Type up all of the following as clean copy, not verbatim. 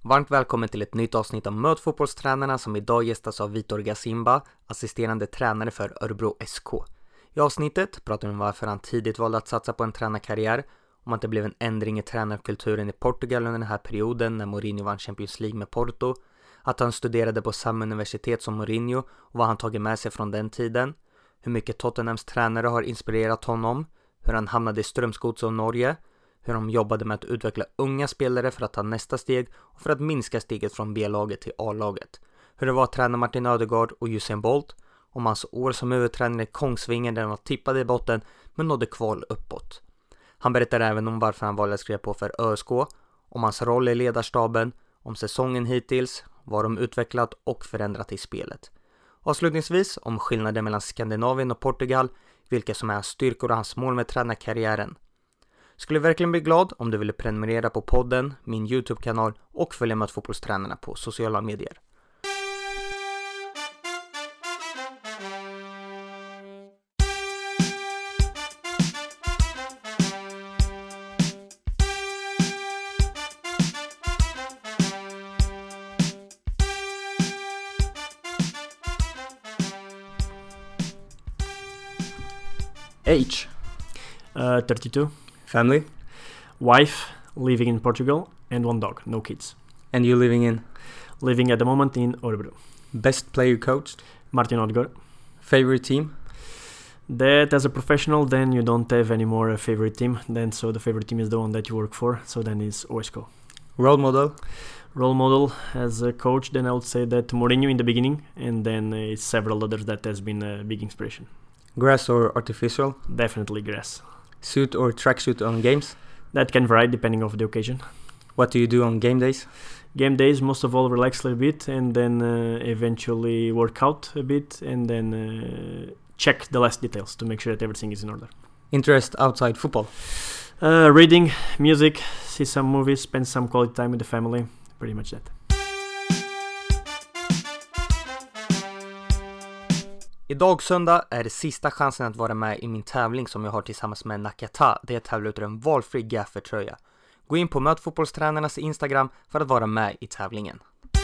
Varmt välkommen till ett nytt avsnitt av Möt fotbollstränarna som idag gästas av Vitor Gasimba, assisterande tränare för Örebro SK. I avsnittet pratar vi om varför han tidigt valde att satsa på en tränarkarriär, om att det blev en ändring i tränarkulturen i Portugal under den här perioden när Mourinho vann Champions League med Porto, att han studerade på samma universitet som Mourinho och vad han tagit med sig från den tiden, hur mycket Tottenhams tränare har inspirerat honom, hur han hamnade i Strömsgods och Norge, hur de jobbade med att utveckla unga spelare för att ta nästa steg och för att minska steget från B-laget till A-laget. Hur det var att träna Martin Ödegaard och Usain Bolt, om hans år som huvudtränare i Kongsvinger där han var tippad i botten men nådde kval uppåt. Han berättar även om varför han valde att skriva på för ÖSK, om hans roll i ledarstaben, om säsongen hittills, vad de utvecklat och förändrat i spelet. Avslutningsvis om skillnaden mellan Skandinavien och Portugal, vilka som är hans styrkor och hans mål med tränarkarriären. Skulle verkligen bli glad om du ville prenumerera på podden, min YouTube-kanal och följa med fotbollstränarna på sociala medier. Age? 32. Family? Wife, living in Portugal, and one dog, no kids. And you living in? Living at the moment in Örebro. Best player coached? Martin Ödegaard. Favorite team? That as a professional, then you don't have any more a favorite team. Then so the favorite team is the one that you work for. So then is OSK. Role model? Role model as a coach, then I would say that Mourinho in the beginning, and then several others that has been a big inspiration. Grass or artificial? Definitely grass. Suit or tracksuit on games? That can vary depending on the occasion. What do you do on game days? Game days, most of all, relax a little bit and then eventually work out a bit and then check the last details to make sure that everything is in order. Interest outside football? Reading, music, see some movies, spend some quality time with the family, pretty much that. Idag söndag är det sista chansen att vara med i min tävling som jag har tillsammans med Nakata. Det är att tävla ut en valfri gaffertröja. Gå in på Möt fotbollstränarnas Instagram för att vara med i tävlingen.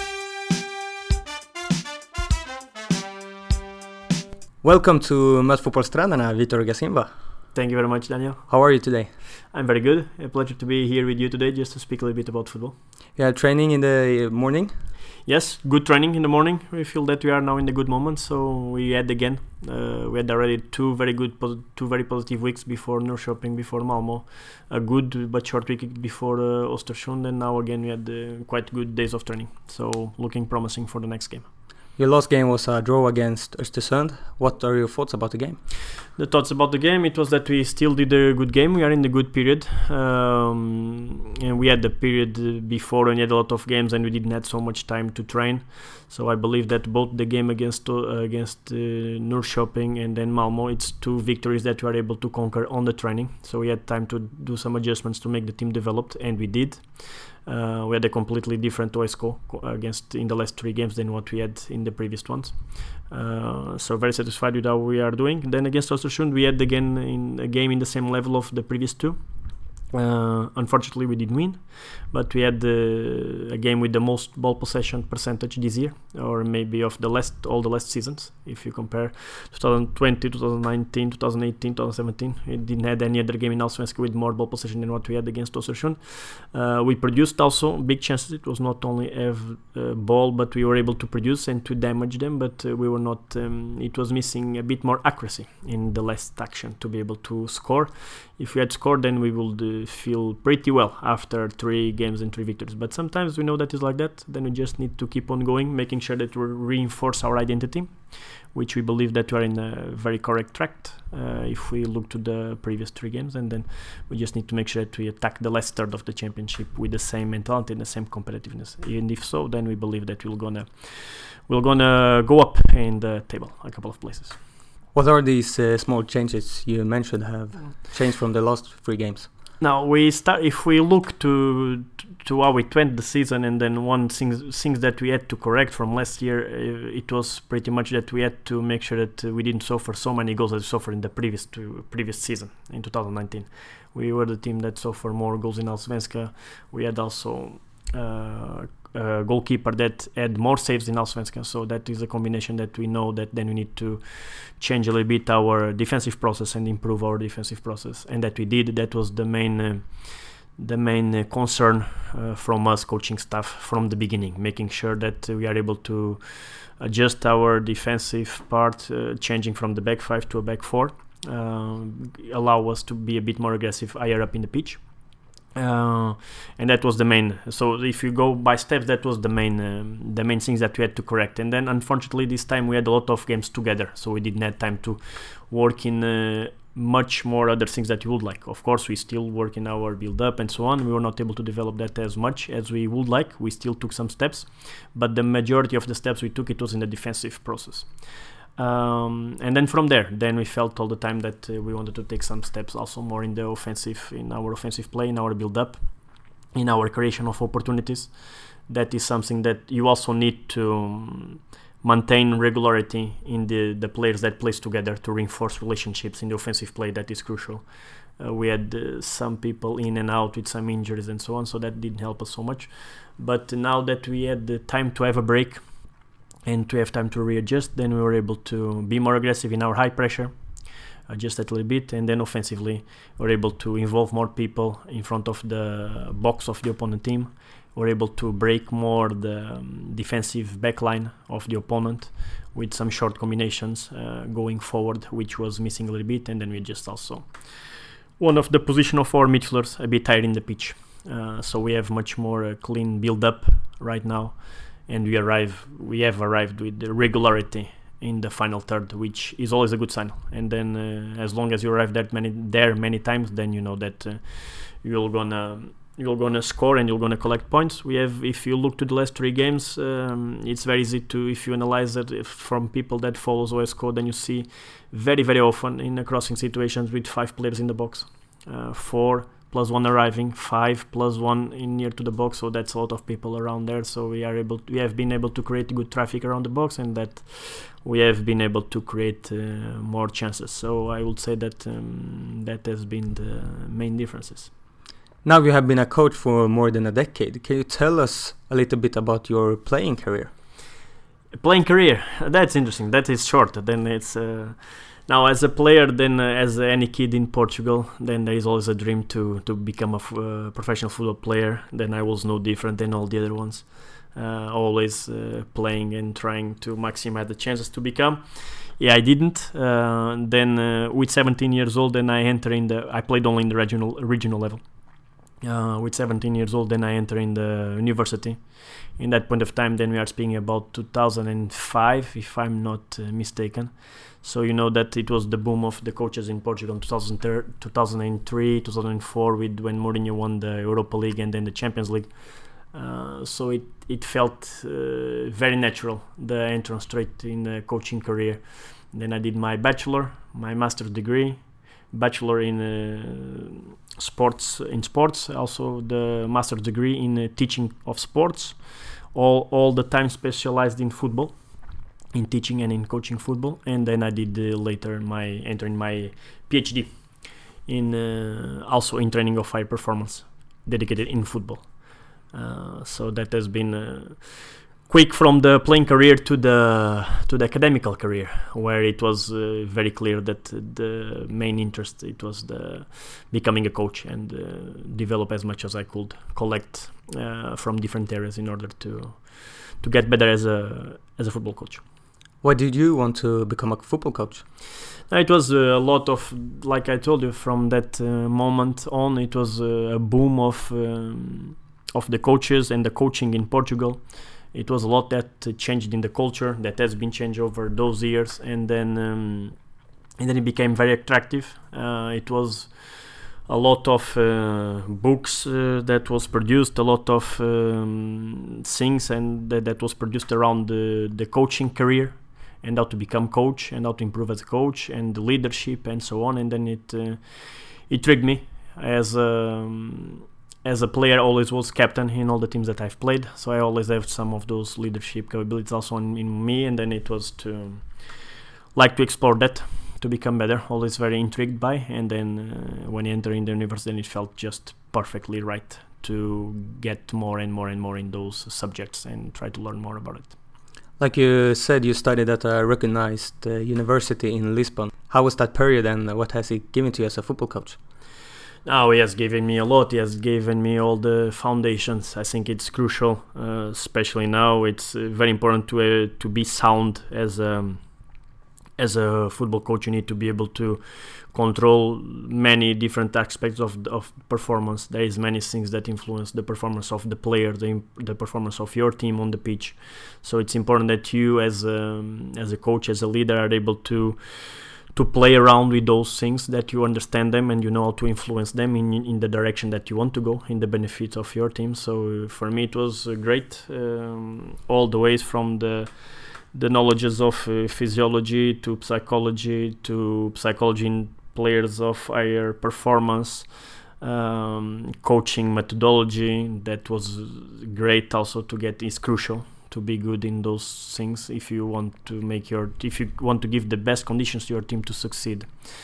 Welcome to Möt fotbollstränarna, Vitor Gasimba. Thank you very much, Daniel. How are you today? I'm very good. A pleasure to be here with you today just to speak a little bit about football. You had training in the morning? Yes, good training in the morning. We feel that we are now in the good moment, so we had again. We had already two very positive weeks before Norrköping, before Malmö, a good but short week before Östersund, and now again we had quite good days of training. So looking promising for the next game. Your last game was a draw against Östersund. What are your thoughts about the game? The thoughts about the game, it was that we still did a good game. We are in the good period. And we had the period before when we had a lot of games and we didn't have so much time to train. So I believe that both the game against Norrköping and then Malmö, it's two victories that we are able to conquer on the training. So we had time to do some adjustments to make the team developed, and we did. We had a completely different OSK against in the last three games than what we had in the previous ones. So very satisfied with how we are doing. Then against Östersund, we had again in a game in the same level of the previous two. Unfortunately, we didn't win, but we had a game with the most ball possession percentage this year, or maybe of all the last seasons. If you compare 2020, 2019, 2018, 2017, we didn't have any other game in Allsvenskan with more ball possession than what we had against Östersund. We produced also big chances. It was not only have ball, but we were able to produce and to damage them. But we were not. It was missing a bit more accuracy in the last action to be able to score. If we had scored, then we would feel pretty well after 3 games and 3 victories. But sometimes we know that it's like that. Then we just need to keep on going, making sure that we reinforce our identity, which we believe that we are in a very correct track if we look to the previous 3 games. And then we just need to make sure that we attack the last third of the championship with the same mentality and the same competitiveness. And if so, then we believe that we're gonna go up in the table a couple of places. What are these small changes you mentioned have changed from the last 3 games? Now if we look to how we went the season, and then one things that we had to correct from last year, it was pretty much that we had to make sure that we didn't suffer so many goals as we suffered in the previous season in 2019. We were the team that suffered more goals in Allsvenskan. We had also a goalkeeper that had more saves in Allsvenskan. So that is a combination that we know that then we need to change a little bit our defensive process and improve our defensive process, and that we did. That was the main concern from us coaching staff from the beginning, making sure that we are able to adjust our defensive part, changing from the back 5 to a back 4, allow us to be a bit more aggressive higher up in the pitch. And that was the main. So if you go by steps, that was the main things that we had to correct. And then unfortunately this time we had a lot of games together, so we didn't have time to work in much more other things that we would like. Of course, we still work in our build up and so on. We were not able to develop that as much as we would like. We still took some steps, but the majority of the steps we took, it was in the defensive process. And then from there, then we felt all the time that we wanted to take some steps also more in the offensive, in our offensive play, in our build up, in our creation of opportunities. That is something that you also need to maintain regularity in the players that plays together to reinforce relationships in the offensive play. That is crucial. We had some people in and out with some injuries and so on, so that didn't help us so much. But now that we had the time to have a break and to have time to readjust, then we were able to be more aggressive in our high pressure, just a little bit, and then offensively we're able to involve more people in front of the box of the opponent team. We're able to break more the defensive backline of the opponent with some short combinations going forward, which was missing a little bit, and then we just also one of the position of our midfielders a bit higher in the pitch. So we have much more clean build-up right now, and we have arrived with the regularity in the final third, which is always a good sign. And then as long as you arrive many times, then you know that you're gonna score and you're gonna collect points. We have, if you look to the last 3 games, it's very easy to, if you analyze it from people that follows OSCO, then you see very, very often in the crossing situations with 5 players in the box, 4 plus 1 arriving, 5 plus 1 in near to the box. So that's a lot of people around there. So we have been able to create good traffic around the box, and that we have been able to create more chances. So I would say that that has been the main differences. Now you have been a coach for more than a decade. Can you tell us a little bit about your playing career? Playing career, that's interesting. That is short. Then it's now as a player, then as any kid in Portugal, then there is always a dream to become a professional football player. Then I was no different than all the other ones, always playing and trying to maximize the chances to become. Yeah, I didn't. Then with 17 years old, then I played only in the regional level. With 17 years old, then I enter in the university. In that point of time, then we are speaking about 2005, if I'm not mistaken. So you know that it was the boom of the coaches in Portugal in 2003, 2004, when Mourinho won the Europa League and then the Champions League. So it felt very natural, the entrance straight in the coaching career. Then I did my bachelor, my master's degree, bachelor in sports, also the master's degree in teaching of sports, all the time specialized in football, in teaching and in coaching football. And then I did later entering my PhD in also in training of high performance, dedicated in football. So that has been quick from the playing career to the academical career, where it was very clear that the main interest, it was the becoming a coach and develop as much as I could, collect from different areas in order to get better as a football coach. Why did you want to become a football coach? It was a lot of, like I told you, from that moment on, it was a boom of the coaches and the coaching in Portugal. It was a lot that changed in the culture, that has been changed over those years, and then it became very attractive. It was a lot of books that was produced, a lot of things, and that was produced around the coaching career and how to become coach and how to improve as a coach and the leadership and so on. And then it trigged me as a player. Always was captain in all the teams that I've played, so I always have some of those leadership capabilities also in me, and then it was to explore that, to become better, always very intrigued by. And then when you enter in the university, then it felt just perfectly right to get more and more and more in those subjects and try to learn more about it. Like you said, you studied at a recognized university in Lisbon. How was that period, and what has it given to you as a football coach? Now he has given me a lot. He has given me all the foundations. I think it's crucial, especially now. It's very important to be sound as a football coach. You need to be able to control many different aspects of performance. There is many things that influence the performance of the player, the performance of your team on the pitch. So it's important that you, as a coach, as a leader, are able to play around with those things, that you understand them and you know how to influence them in the direction that you want to go, in the benefit of your team. So for me it was great, all the ways from the knowledges of physiology to psychology in players of higher performance, coaching methodology. That was great also to get. Is crucial to be good in those things if you want to give the best conditions to your team to succeed.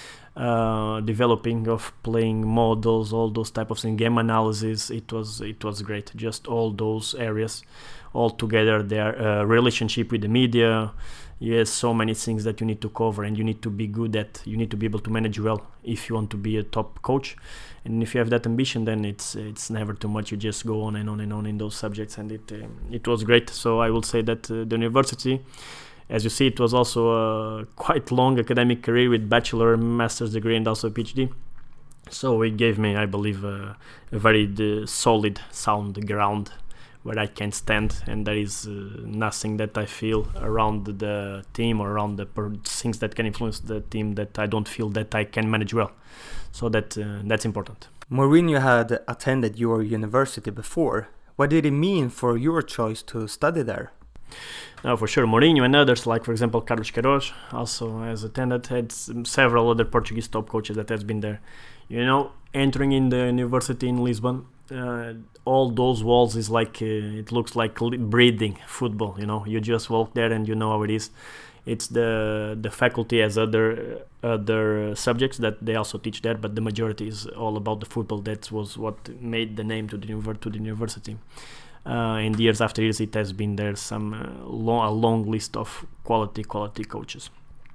Developing of playing models, all those type of things, game analysis, it was great. Just all those areas all together, their relationship with the media. Yes, so many things that you need to cover, and you need to be good at. You need to be able to manage well if you want to be a top coach. And if you have that ambition, then it's never too much. You just go on and on and on in those subjects, and it was great. So I will say that the university, as you see, it was also a quite long academic career with bachelor, master's degree, and also a PhD. So it gave me, I believe, a very solid, sound ground where I can stand, and there is nothing that I feel around the team or around the things that can influence the team that I don't feel that I can manage well. So that's important. Mourinho had attended your university before. What did it mean for your choice to study there? Now, for sure, Mourinho and others, like for example Carlos Queiroz, also has attended. Had several other Portuguese top coaches that has been there. You know, entering in the university in Lisbon, all those walls is like it looks like breathing football. You know, you just walk there and you know how it is. It's the faculty has other subjects that they also teach there, but the majority is all about the football. That was what made the name to the university. And years after years, it has been there a long list of quality coaches.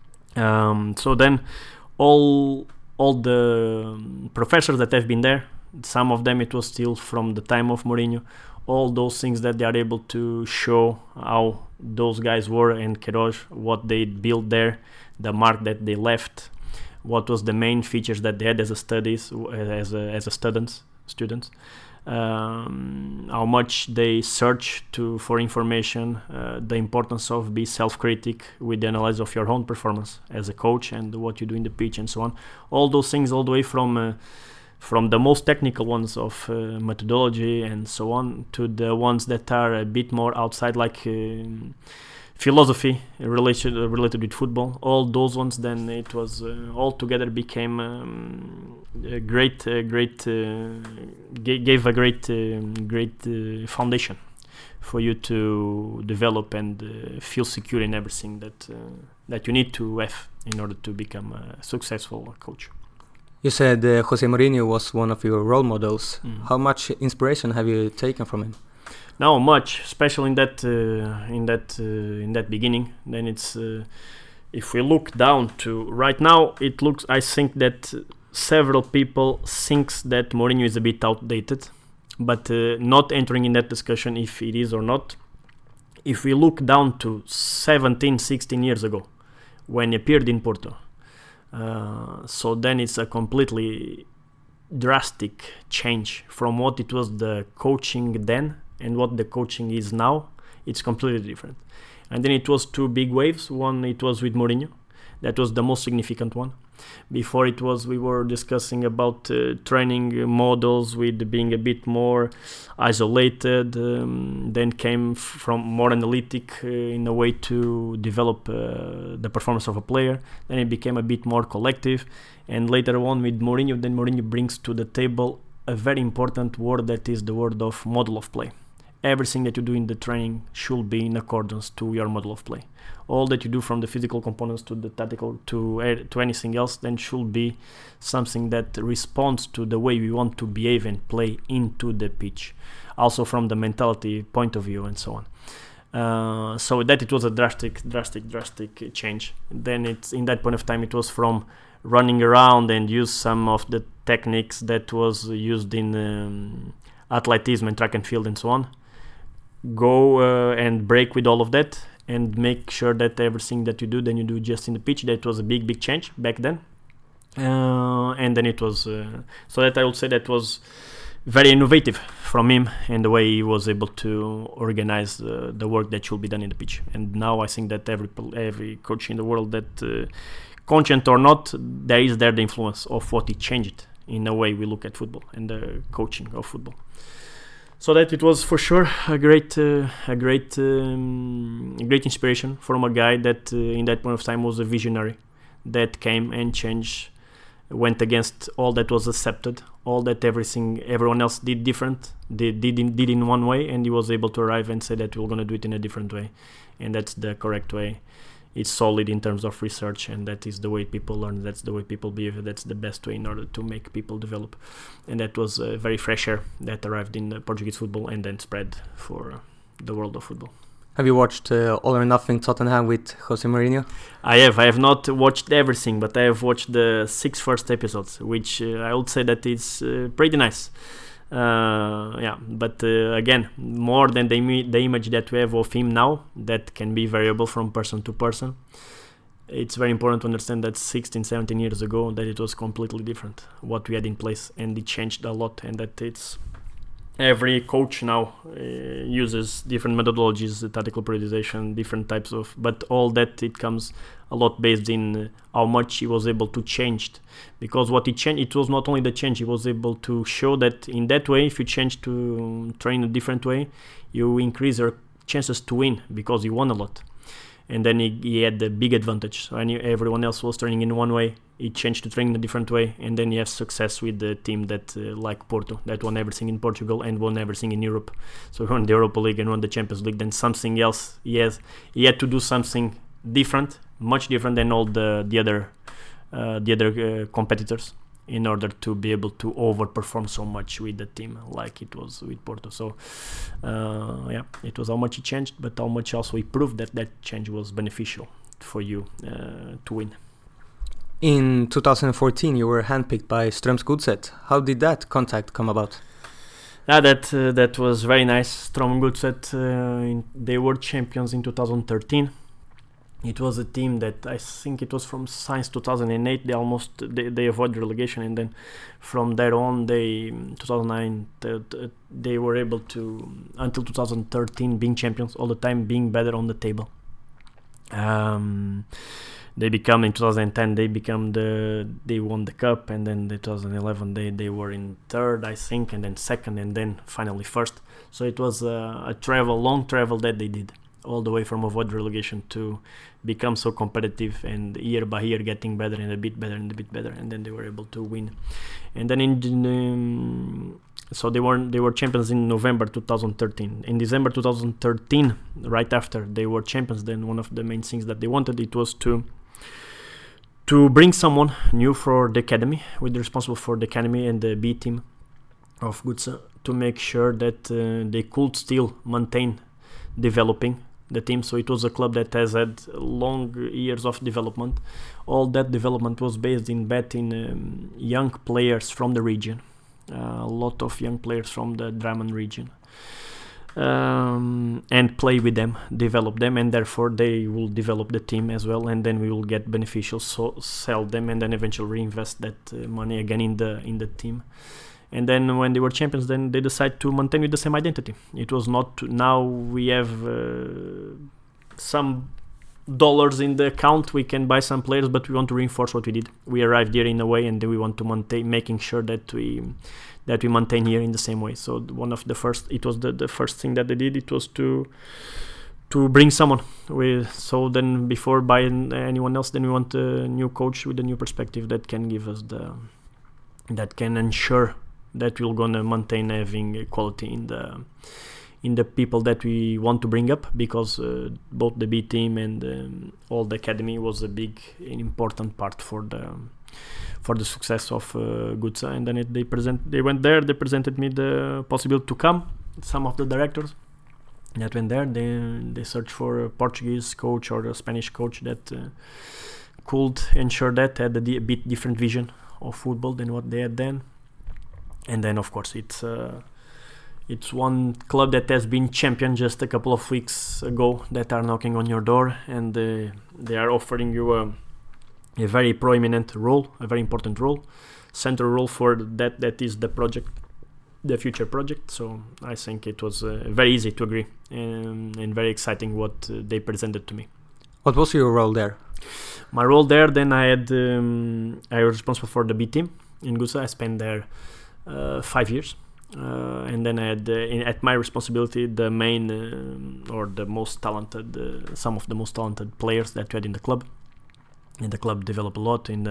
So then, all the professors that have been there, some of them it was still from the time of Mourinho. All those things that they are able to show how those guys were, and Queiroz, what they built there, the mark that they left, what was the main features that they had as students, how much they search for information, the importance of be self-critic with the analysis of your own performance as a coach and what you do in the pitch and so on. All those things, all the way from the most technical ones of methodology and so on to the ones that are a bit more outside, like philosophy related with football. All those ones, then it was all together became gave a great foundation for you to develop and feel secure in everything that you need to have in order to become a successful coach. You said Jose Mourinho was one of your role models. How much inspiration have you taken from him? Not much, especially in that beginning. Then it's if we look down to right now, it looks. I think that several people thinks that Mourinho is a bit outdated, but not entering in that discussion if it is or not. If we look down to 17, 16 years ago, when he appeared in Porto. So then it's a completely drastic change from what it was the coaching then and what the coaching is now. It's completely different. And then it was two big waves. One, it was with Mourinho. That was the most significant one. Before it was, we were discussing about training models with being a bit more isolated. Then came from more analytic in a way to develop the performance of a player. Then it became a bit more collective. And later on with Mourinho, then Mourinho brings to the table a very important word, that is the word of model of play. everything that you do in the training should be in accordance to your model of play. All that you do, from the physical components to the tactical to anything else, then should be something that responds to the way we want to behave and play into the pitch, also from the mentality point of view and so on. So that it was a drastic change. Then it's in that point of time, it was from running around and use some of the techniques that was used in athleticism and track and field and so on. Go and break with all of that and make sure that everything that you do, then you do just in the pitch. That was a big change back then. And then it was so that I would say that was very innovative from him, and the way he was able to organize the work that should be done in the pitch. And now I think that every coach in the world, that conscient or not, there is the influence of what he changed in the way we look at football and the coaching of football. So that it was for sure a great inspiration from a guy that in that point of time was a visionary, that came and changed, went against all that was accepted, all that everyone else did different. They did in one way, and he was able to arrive and say that we're going to do it in a different way, and that's the correct way. It's solid in terms of research, and that is the way people learn, that's the way people behave, that's the best way in order to make people develop. And that was a very fresh air that arrived in the Portuguese football and then spread for the world of football. Have you watched All or Nothing Tottenham with Jose Mourinho? I have not watched everything, but I have watched the 6 first episodes, which I would say that it's pretty nice. But again, more than the image that we have of him now, that can be variable from person to person. It's very important to understand that 16-17 years ago, that it was completely different what we had in place, and it changed a lot, and that it's every coach now uses different methodologies, tactical periodization, different types of, but all that, it comes a lot based in how much he was able to change. Because what he changed, it was not only the change, he was able to show that in that way, if you change to train a different way, you increase your chances to win, because he won a lot. And then he had the big advantage. So everyone else was training in one way, he changed to train in a different way, and then he has success with the team that like Porto, that won everything in Portugal and won everything in Europe. So he won the Europa League and won the Champions League. Then something else, he had to do something different, much different than all the other competitors, in order to be able to overperform so much with the team like it was with Porto. So it was how much he changed, but how much also he proved that change was beneficial for you to win. In 2014, you were handpicked by Strømsgodset. How did that contact come about? That was very nice. Strømsgodset, they were champions in 2013. It was a team that I think it was from since 2008. They avoided relegation, and then from there on, 2009 they were able to, until 2013, being champions all the time, being better on the table. They become in 2010. They won the cup, and then in 2011 they were in third, I think, and then second, and then finally first. So it was a long travel that they did, all the way from avoid relegation to become so competitive, and year by year getting better and a bit better and a bit better, and then they were able to win. And then so they were champions in November 2013. In December 2013, right after they were champions, then one of the main things that they wanted, it was to bring someone new for the academy, with the responsible for the academy and the B team of Godset, to make sure that they could still maintain developing the team. So it was a club that has had long years of development. All that development was based in betting young players from the region, a lot of young players from the Drammen region, and play with them, develop them, and therefore they will develop the team as well, and then we will get beneficial, so sell them, and then eventually reinvest that money again in the team. And then when they were champions, then they decided to maintain with the same identity. It was not, now we have some dollars in the account, we can buy some players, but we want to reinforce what we did. We arrived here in a way, and we want to maintain, making sure that we maintain here in the same way. So the first thing that they did, it was to bring someone. So then before buying anyone else, then we want a new coach with a new perspective that can give us that can ensure that we're gonna maintain having quality in the people that we want to bring up, because both the B team and all the academy was a big and important part for the success of GUTSA. And then they went there, they presented me the possibility to come. Some of the directors that went there, they searched for a Portuguese coach or a Spanish coach that could ensure that had a bit different vision of football than what they had then. And then of course it's one club that has been champion just a couple of weeks ago that are knocking on your door, and they are offering you a very prominent role, a very important role, central role for that is the project, the future project. So I think it was very easy to agree and very exciting what they presented to me. What was your role there? My role there, then I was responsible for the B team in GUTSA. I spent there 5 years, and then I had at my responsibility the main or the most talented, some of the most talented players that we had in the club. And the club developed a lot in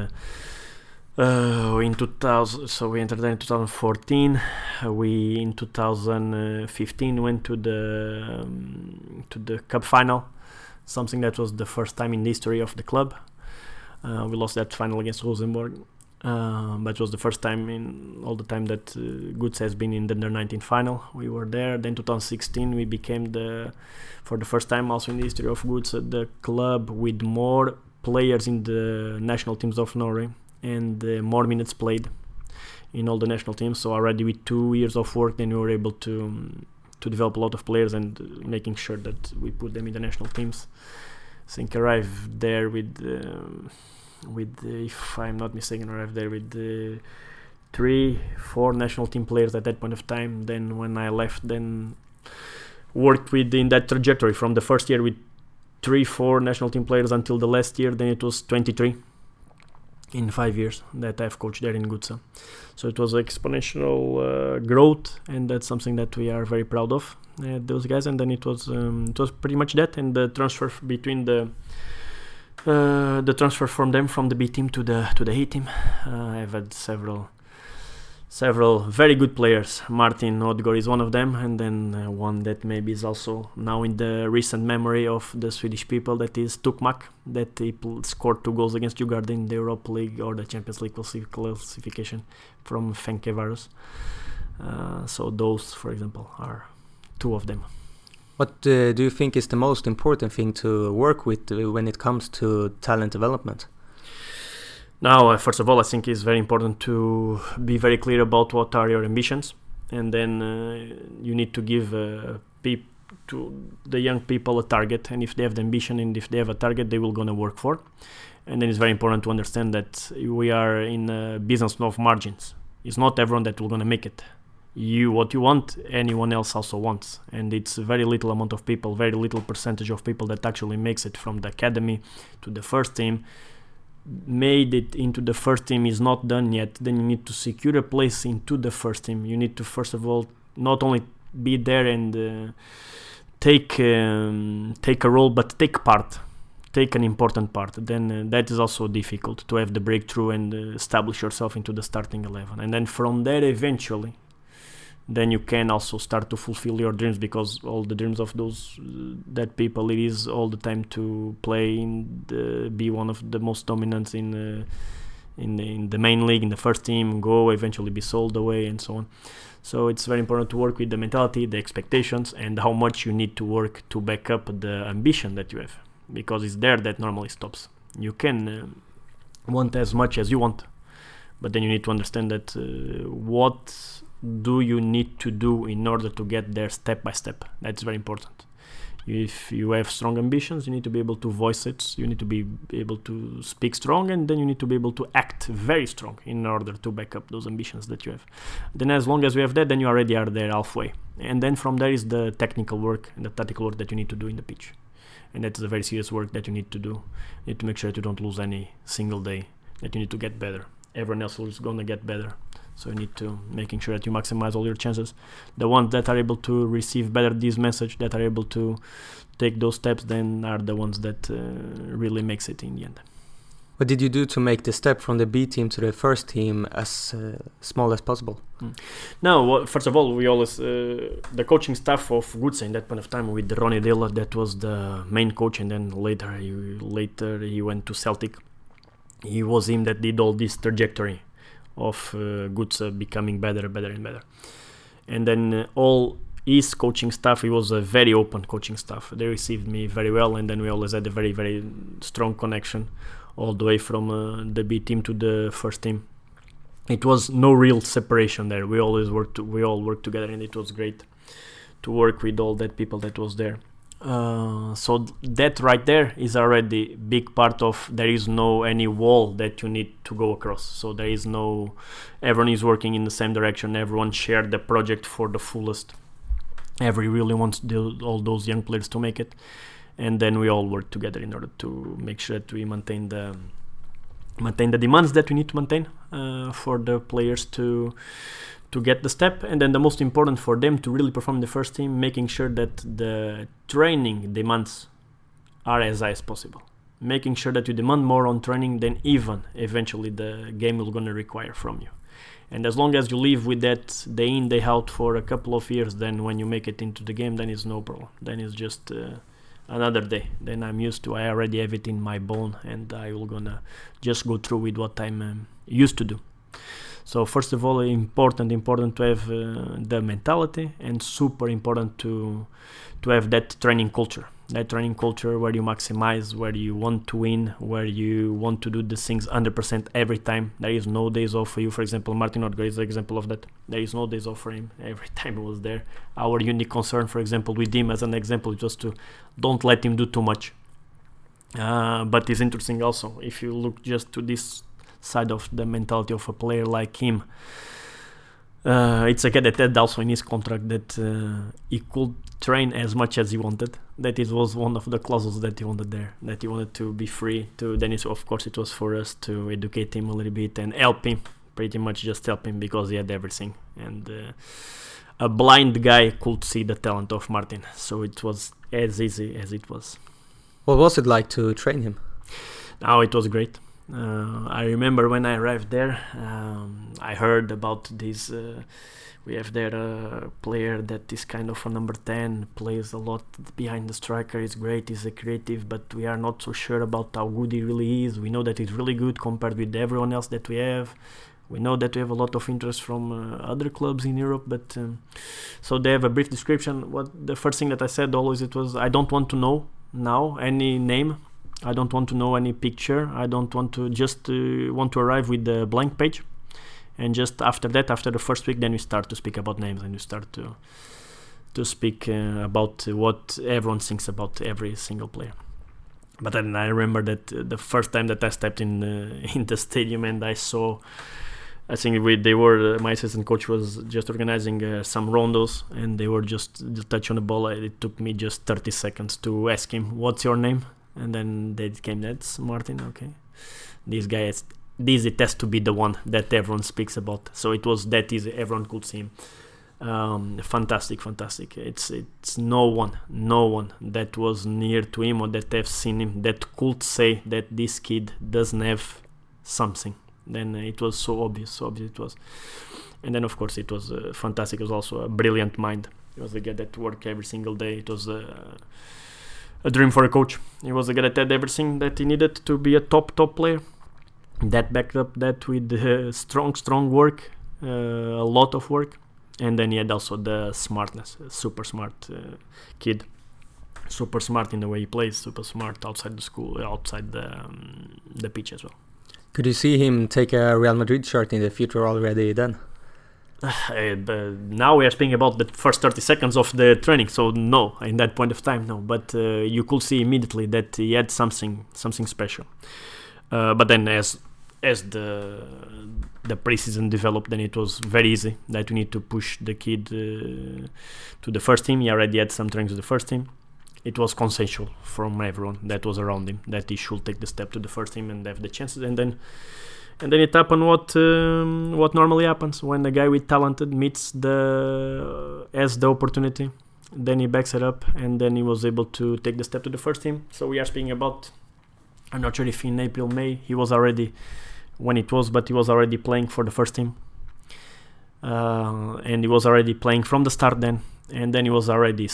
2000. So we entered there in 2014. We in 2015 went to the cup final, something that was the first time in the history of the club. We lost that final against Rosenborg, but it was the first time in all the time that GUTSA has been in the under-19 final. We were there. Then 2016 we became for the first time also in the history of GUTSA, the club with more players in the national teams of Norway and more minutes played in all the national teams. So already with 2 years of work, then we were able to develop a lot of players and making sure that we put them in the national teams. I think arrived there with if I'm not mistaken, arrived there with 3-4 national team players at that point of time. Then when I left, then worked in that trajectory from the first year with 3-4 national team players until the last year. Then it was 23 in 5 years that I've coached there in GUTSA. So it was exponential growth, and that's something that we are very proud of, those guys. And then it was pretty much that, and the transfer between the transfer from them from the B team to the A team. I've had several very good players. Martin Odegaard is one of them, and then one that maybe is also now in the recent memory of the Swedish people, that is Tukmak, that he scored 2 goals against Djurgården in the Europa League or the Champions League classification from Ferencváros. So those, for example, are 2 of them. What do you think is the most important thing to work with when it comes to talent development? Now, first of all, I think it's very important to be very clear about what are your ambitions, and then you need to give to the young people a target, and if they have the ambition and if they have a target, they will gonna work for. And then it's very important to understand that we are in a business of margins. It's not everyone that will gonna make it. What you want, anyone else also wants, and it's a very little amount of people, very little percentage of people that actually makes it from the academy to the first team. Made it into the first team is not done yet. Then you need to secure a place into the first team. You need to first of all not only be there and take a role, but take an important part. Then that is also difficult to have the breakthrough and establish yourself into the starting 11. And then from there, eventually, then you can also start to fulfill your dreams, because all the dreams of those that people, it is all the time to play be one of the most dominant in the main league, in the first team, go eventually be sold away and so on. So it's very important to work with the mentality, the expectations, and how much you need to work to back up the ambition that you have, because it's there that normally stops. You can want as much as you want, but then you need to understand that what do you need to do in order to get there step by step. That's very important. If you have strong ambitions, you need to be able to voice it, you need to be able to speak strong, and then you need to be able to act very strong in order to back up those ambitions that you have. Then as long as you have that, then you already are there halfway, and then from there is the technical work and the tactical work that you need to do in the pitch, and that is a very serious work that you need to do. You need to make sure that you don't lose any single day, that you need to get better. Everyone else is going to get better. So you need to making sure that you maximize all your chances. The ones that are able to receive better this message, that are able to take those steps, then are the ones that really makes it in the end. What did you do to make the step from the B team to the first team as small as possible? No, first of all, we always the coaching staff of Goodsa in that point of time with Ronnie Dilla, that was the main coach, and then later he went to Celtic. He was him that did all this trajectory of Goodsa becoming better and better. And then all his coaching staff, he was a very open coaching staff. They received me very well, and then we always had a very, very strong connection all the way from the B team to the first team. It was no real separation there. We all worked together, and it was great to work with all that people that was there. So that right there is already big part of, there is no any wall that you need to go across. So there is no, everyone is working in the same direction. Everyone shared the project for the fullest. Every really wants all those young players to make it, and then we all work together in order to make sure that we maintain the demands that we need to maintain for the players to get the step, and then the most important for them to really perform in the first team, making sure that the training demands are as high as possible, making sure that you demand more on training than even eventually the game is going to require from you. And as long as you live with that day in, day out for a couple of years, then when you make it into the game, then it's no problem. Then it's just another day. Then I'm used to, I already have it in my bone, and I will gonna just go through with what I'm used to do. So first of all, important to have the mentality, and super important to have that training culture. That training culture where you maximize, where you want to win, where you want to do the things 100% every time. There is no days off for you. For example, Martin Odegaard is an example of that. There is no days off for him. Every time he was there. Our unique concern, for example, with him as an example, is just to don't let him do too much. But it's interesting also, if you look just to this side of the mentality of a player like him, it's a guy that had also in his contract that he could train as much as he wanted. That it was one of the clauses that he wanted there, that he wanted to be free to. Then of course it was for us to educate him a little bit and help him, pretty much just help him, because he had everything, and a blind guy could see the talent of Martin, so it was as easy as it was. What was it like to train him? Now it was great. I remember when I arrived there, I heard about this. We have there a player that is kind of a number 10, plays a lot behind the striker, is great, is a creative, but we are not so sure about how good he really is. We know that he's really good compared with everyone else that we have. We know that we have a lot of interest from other clubs in Europe, but so they have a brief description. The first thing that I said always, it was, I don't want to know now any name. I don't want to know any picture. I don't want to, just want to arrive with the blank page. And just after that, after the first week, then we start to speak about names, and we start to speak about what everyone thinks about every single player. But then I remember that the first time that I stepped in the stadium, and I saw, I think my assistant coach was just organizing some rondos, and they were just touch on the ball. It took me just 30 seconds to ask him, "What's your name?" And then they came, "That's Martin." Okay, this guy it has to be the one that everyone speaks about. So it was that easy. Everyone could see him. Fantastic. It's no one that was near to him or that have seen him that could say that this kid doesn't have something. Then it was so obvious it was. And then of course it was fantastic. It was also a brilliant mind. It was a guy that worked every single day. It was a dream for a coach. He was a guy that had everything that he needed to be a top player. That backed up that with strong work, a lot of work, and then he had also the smartness. Super smart kid, super smart in the way he plays, super smart outside the school, outside the pitch as well. Could you see him take a Real Madrid shirt in the future already then? Now we are speaking about the first 30 seconds of the training, so no, in that point of time, no. But you could see immediately that he had something special. But then as the preseason developed, then it was very easy that we need to push the kid to the first team. He already had some trainings with the first team. It was consensual from everyone that was around him that he should take the step to the first team and have the chances. And then it happened what normally happens when a guy with talented meets has the opportunity. Then he backs it up, and then he was able to take the step to the first team. So we are speaking about I'm not sure if in April, May, he was already playing for the first team. And he was already playing from the start then. And then he was already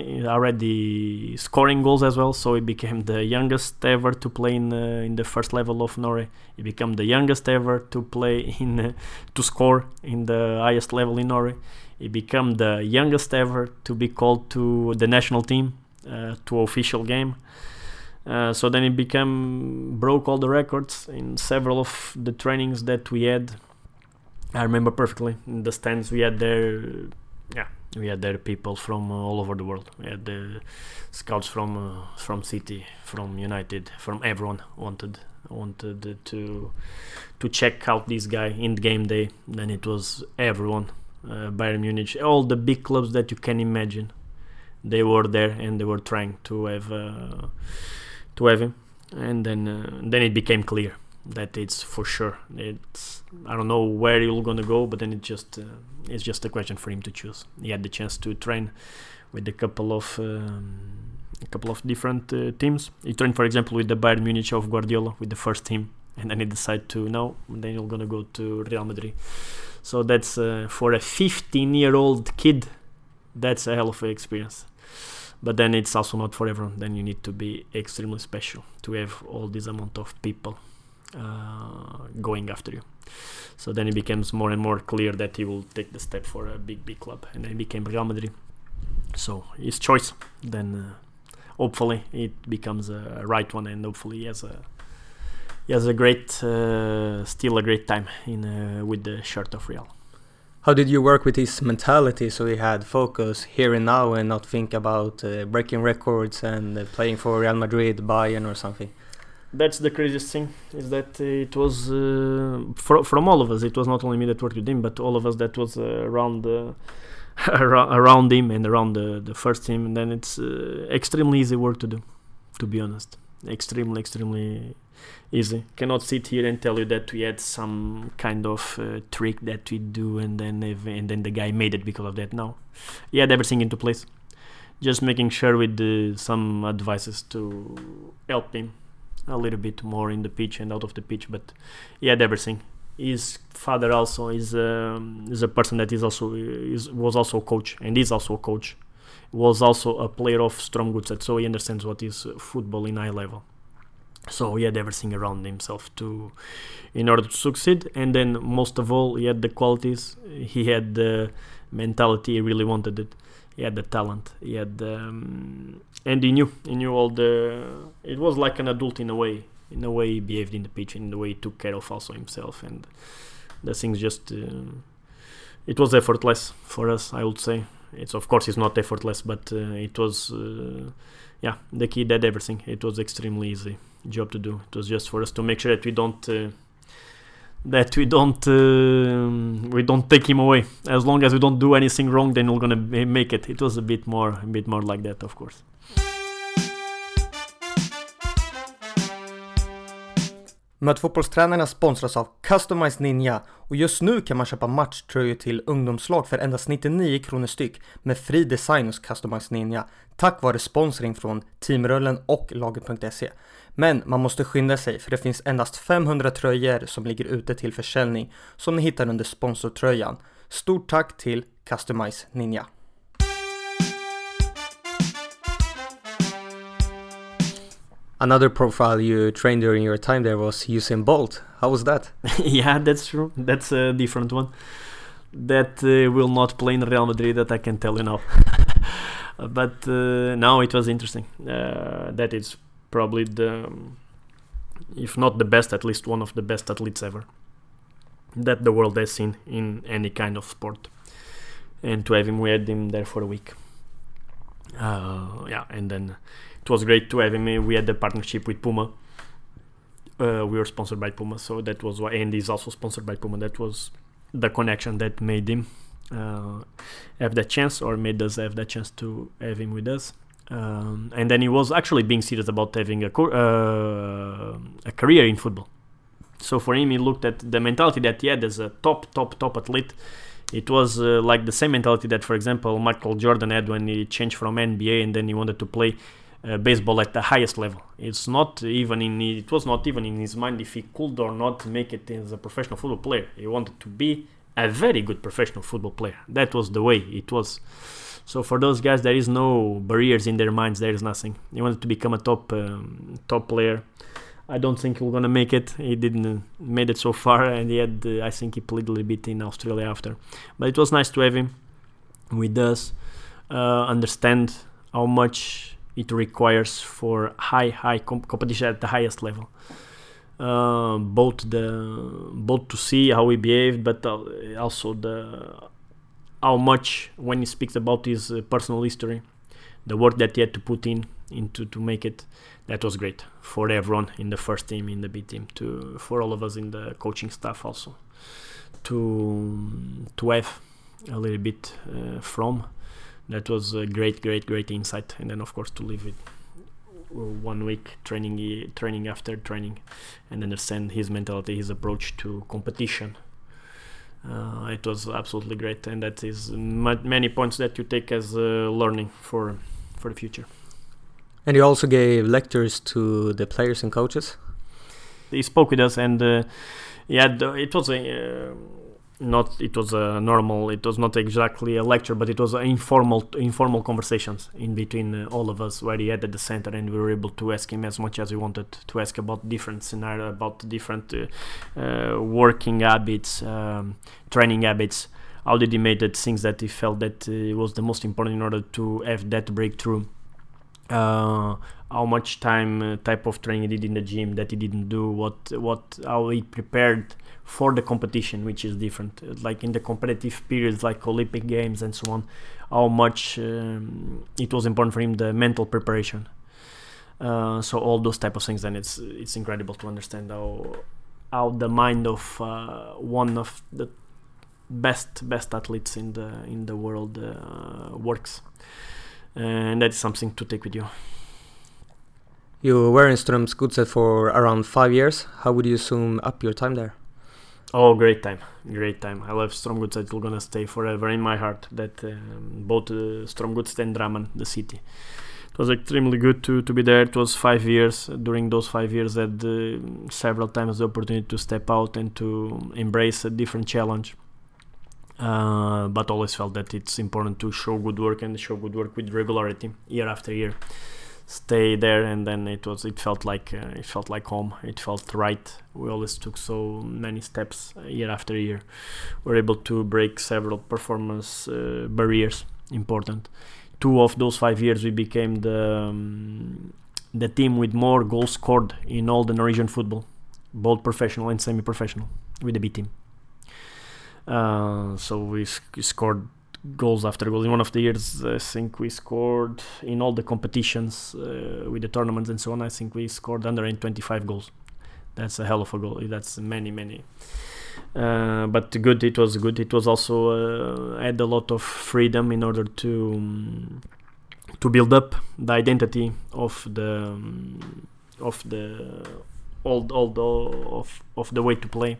scoring goals as well. So he became the youngest ever to play in the first level of Norway. He became the youngest ever to play to score in the highest level in Norway. He became the youngest ever to be called to the national team, to official game. So then he broke all the records in several of the trainings that we had. I remember perfectly in the stands we had there. We had there people from all over the world. We had the scouts from City, from United, from everyone wanted to check out this guy in game day. Then it was everyone, Bayern Munich, all the big clubs that you can imagine. They were there and they were trying to have him. And then it became clear that it's for sure. I don't know where he'll gonna go, but then it's just a question for him to choose. He had the chance to train with a couple of different teams. He trained, for example, with the Bayern Munich of Guardiola with the first team, and then he decided to no. Then he's gonna go to Real Madrid. So that's for a 15-year-old kid, that's a hell of an experience. But then it's also not for everyone. Then you need to be extremely special to have all this amount of people going after you. So then it becomes more and more clear that he will take the step for a big club, and then he became Real Madrid. So his choice, then hopefully it becomes a right one, and hopefully he has a great still a great time with the shirt of Real. How did you work with his mentality so he had focus here and now and not think about breaking records and playing for Real Madrid, Bayern or something? That's the craziest thing, is that it was from all of us. It was not only me that worked with him, but all of us that was around him and around the first team. And then it's extremely easy work to do, to be honest. Extremely easy. Cannot sit here and tell you that we had some kind of trick that we do and then the guy made it because of that. No, he had everything into place. Just making sure with some advices to help him a little bit more in the pitch and out of the pitch, but he had everything. His father also is a person that was also a coach, and is also a coach. Was also a player of Strømgodset, so he understands what is football in high level. So he had everything around himself in order to succeed, and then most of all, he had the qualities. He had the mentality. He really wanted it. He had the talent. He had and he knew all the. It was like an adult in a way he behaved in the pitch, in the way he took care of also himself, and the things just. It was effortless for us, I would say. It's not effortless, but it was. The kid did everything. It was extremely easy job to do. It was just for us to make sure that we don't take him away. As long as we don't do anything wrong, then we're gonna make it. It was a bit more like that, of course. Mötfotbollstränarna sponsras av Customized Ninja och just nu kan man köpa matchtröjor till ungdomslag för endast 99 kronor styck med fri design hos Customized Ninja tack vare sponsring från Teamröllen och Laget.se. Men man måste skynda sig för det finns endast 500 tröjor som ligger ute till försäljning som ni hittar under sponsortröjan. Stort tack till Customized Ninja. Another profile you trained during your time there was Usain Bolt. How was that? Yeah, that's true. That's a different one. That will not play in Real Madrid, that I can tell you now. But no, it was interesting. That is probably if not the best, at least one of the best athletes ever that the world has seen in any kind of sport. And to have him, we had him there for a week. And then it was great to have him. We had the partnership with Puma. We were sponsored by Puma, so that was why, and he's also sponsored by Puma. That was the connection that made him have that chance, or made us have that chance to have him with us. And then he was actually being serious about having a career in football. So for him, he looked at the mentality that he had as a top athlete. It was like the same mentality that, for example, Michael Jordan had when he changed from NBA and then he wanted to play baseball at the highest level. It was not even in his mind if he could or not make it as a professional football player. He wanted to be a very good professional football player. That was the way it was. So for those guys, there is no barriers in their minds. There is nothing. He wanted to become a top player. I don't think he was gonna make it. He didn't made it so far, and he had. I think he played a little bit in Australia after. But it was nice to have him with us. Understand how much it requires for high competition at the highest level. Both to see how he behaved, but also how much when he speaks about his personal history, the work that he had to put into to make it. That was great for everyone in the first team, in the B team, for all of us in the coaching staff also, to have a little bit from. That was a great insight, and then of course to live with 1 week training after training, and understand his mentality, his approach to competition. It was absolutely great, and that is many points that you take as learning for the future. And you also gave lectures to the players and coaches? He spoke with us, and it was not exactly a lecture, but it was informal conversations in between all of us, where he had at the center, and we were able to ask him as much as we wanted to ask about different scenarios, about different working habits, training habits. How did he make the things that he felt that was the most important in order to have that breakthrough? How much type of training he did in the gym that he didn't do, how he prepared for the competition, which is different, like in the competitive periods like Olympic Games and so on, how much it was important for him, the mental preparation. So all those type of things, and it's incredible to understand how the mind of one of the best athletes in the world works. And that is something to take with you. You were in Strømsgodset for around 5 years. How would you sum up your time there? Oh, great time. I love Strømsgodset. It's gonna stay forever in my heart. That both Strømsgodset and Drammen, the city. It was extremely good to be there. It was 5 years. During those 5 years, I had several times the opportunity to step out and to embrace a different challenge. But always felt that it's important to show good work with regularity year after year. Stay there, and then it felt like home. It felt right. We always took so many steps year after year. We're able to break several performance barriers. Important. 2 of those 5 years, we became the team with more goals scored in all the Norwegian football, both professional and semi-professional, with the B team. So we scored goals after goals. In one of the years, I think we scored in all the competitions with the tournaments and so on. I think we scored 125 goals. That's a hell of a goal. That's many. But good. It was good. It was also had a lot of freedom in order to build up the identity of the way to play.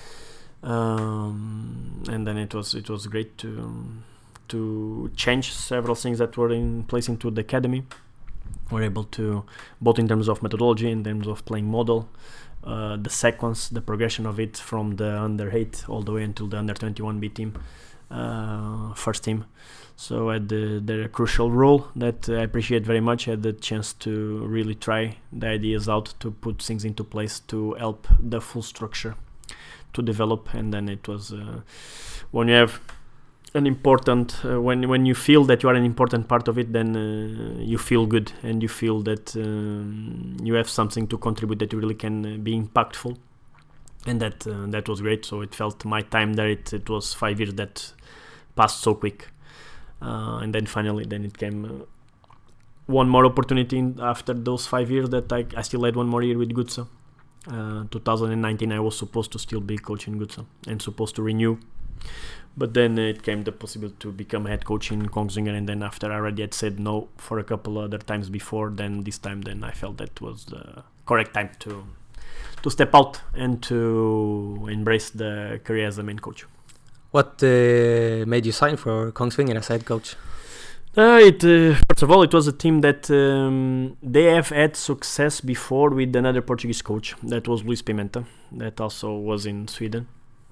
And then it was great to change several things that were in place into the academy. We're able to, both in terms of methodology, in terms of playing model, the sequence, the progression of it from the under 8 all the way until the under 21 B team, first team. So I had the crucial role that I appreciate very much. I had the chance to really try the ideas out, to put things into place to help the full structure to develop. And then it was when you have an important when you feel that you are an important part of it, then you feel good, and you feel that you have something to contribute, that you really can be impactful, and that was great. So it felt my time there, it was 5 years that passed so quick, and then finally it came one more opportunity after those 5 years, that I still had one more year with Godset. 2019 I was supposed to still be coaching Godset and supposed to renew, but then it came the possibility to become head coach in Kongsvinger, and then after I already had said no for a couple other times before, then this time I felt that was the correct time to step out and to embrace the career as a main coach. What made you sign for Kongsvinger as head coach? First of all, it was a team that they have had success before with another Portuguese coach. That was Luis Pimenta, that also was in Sweden.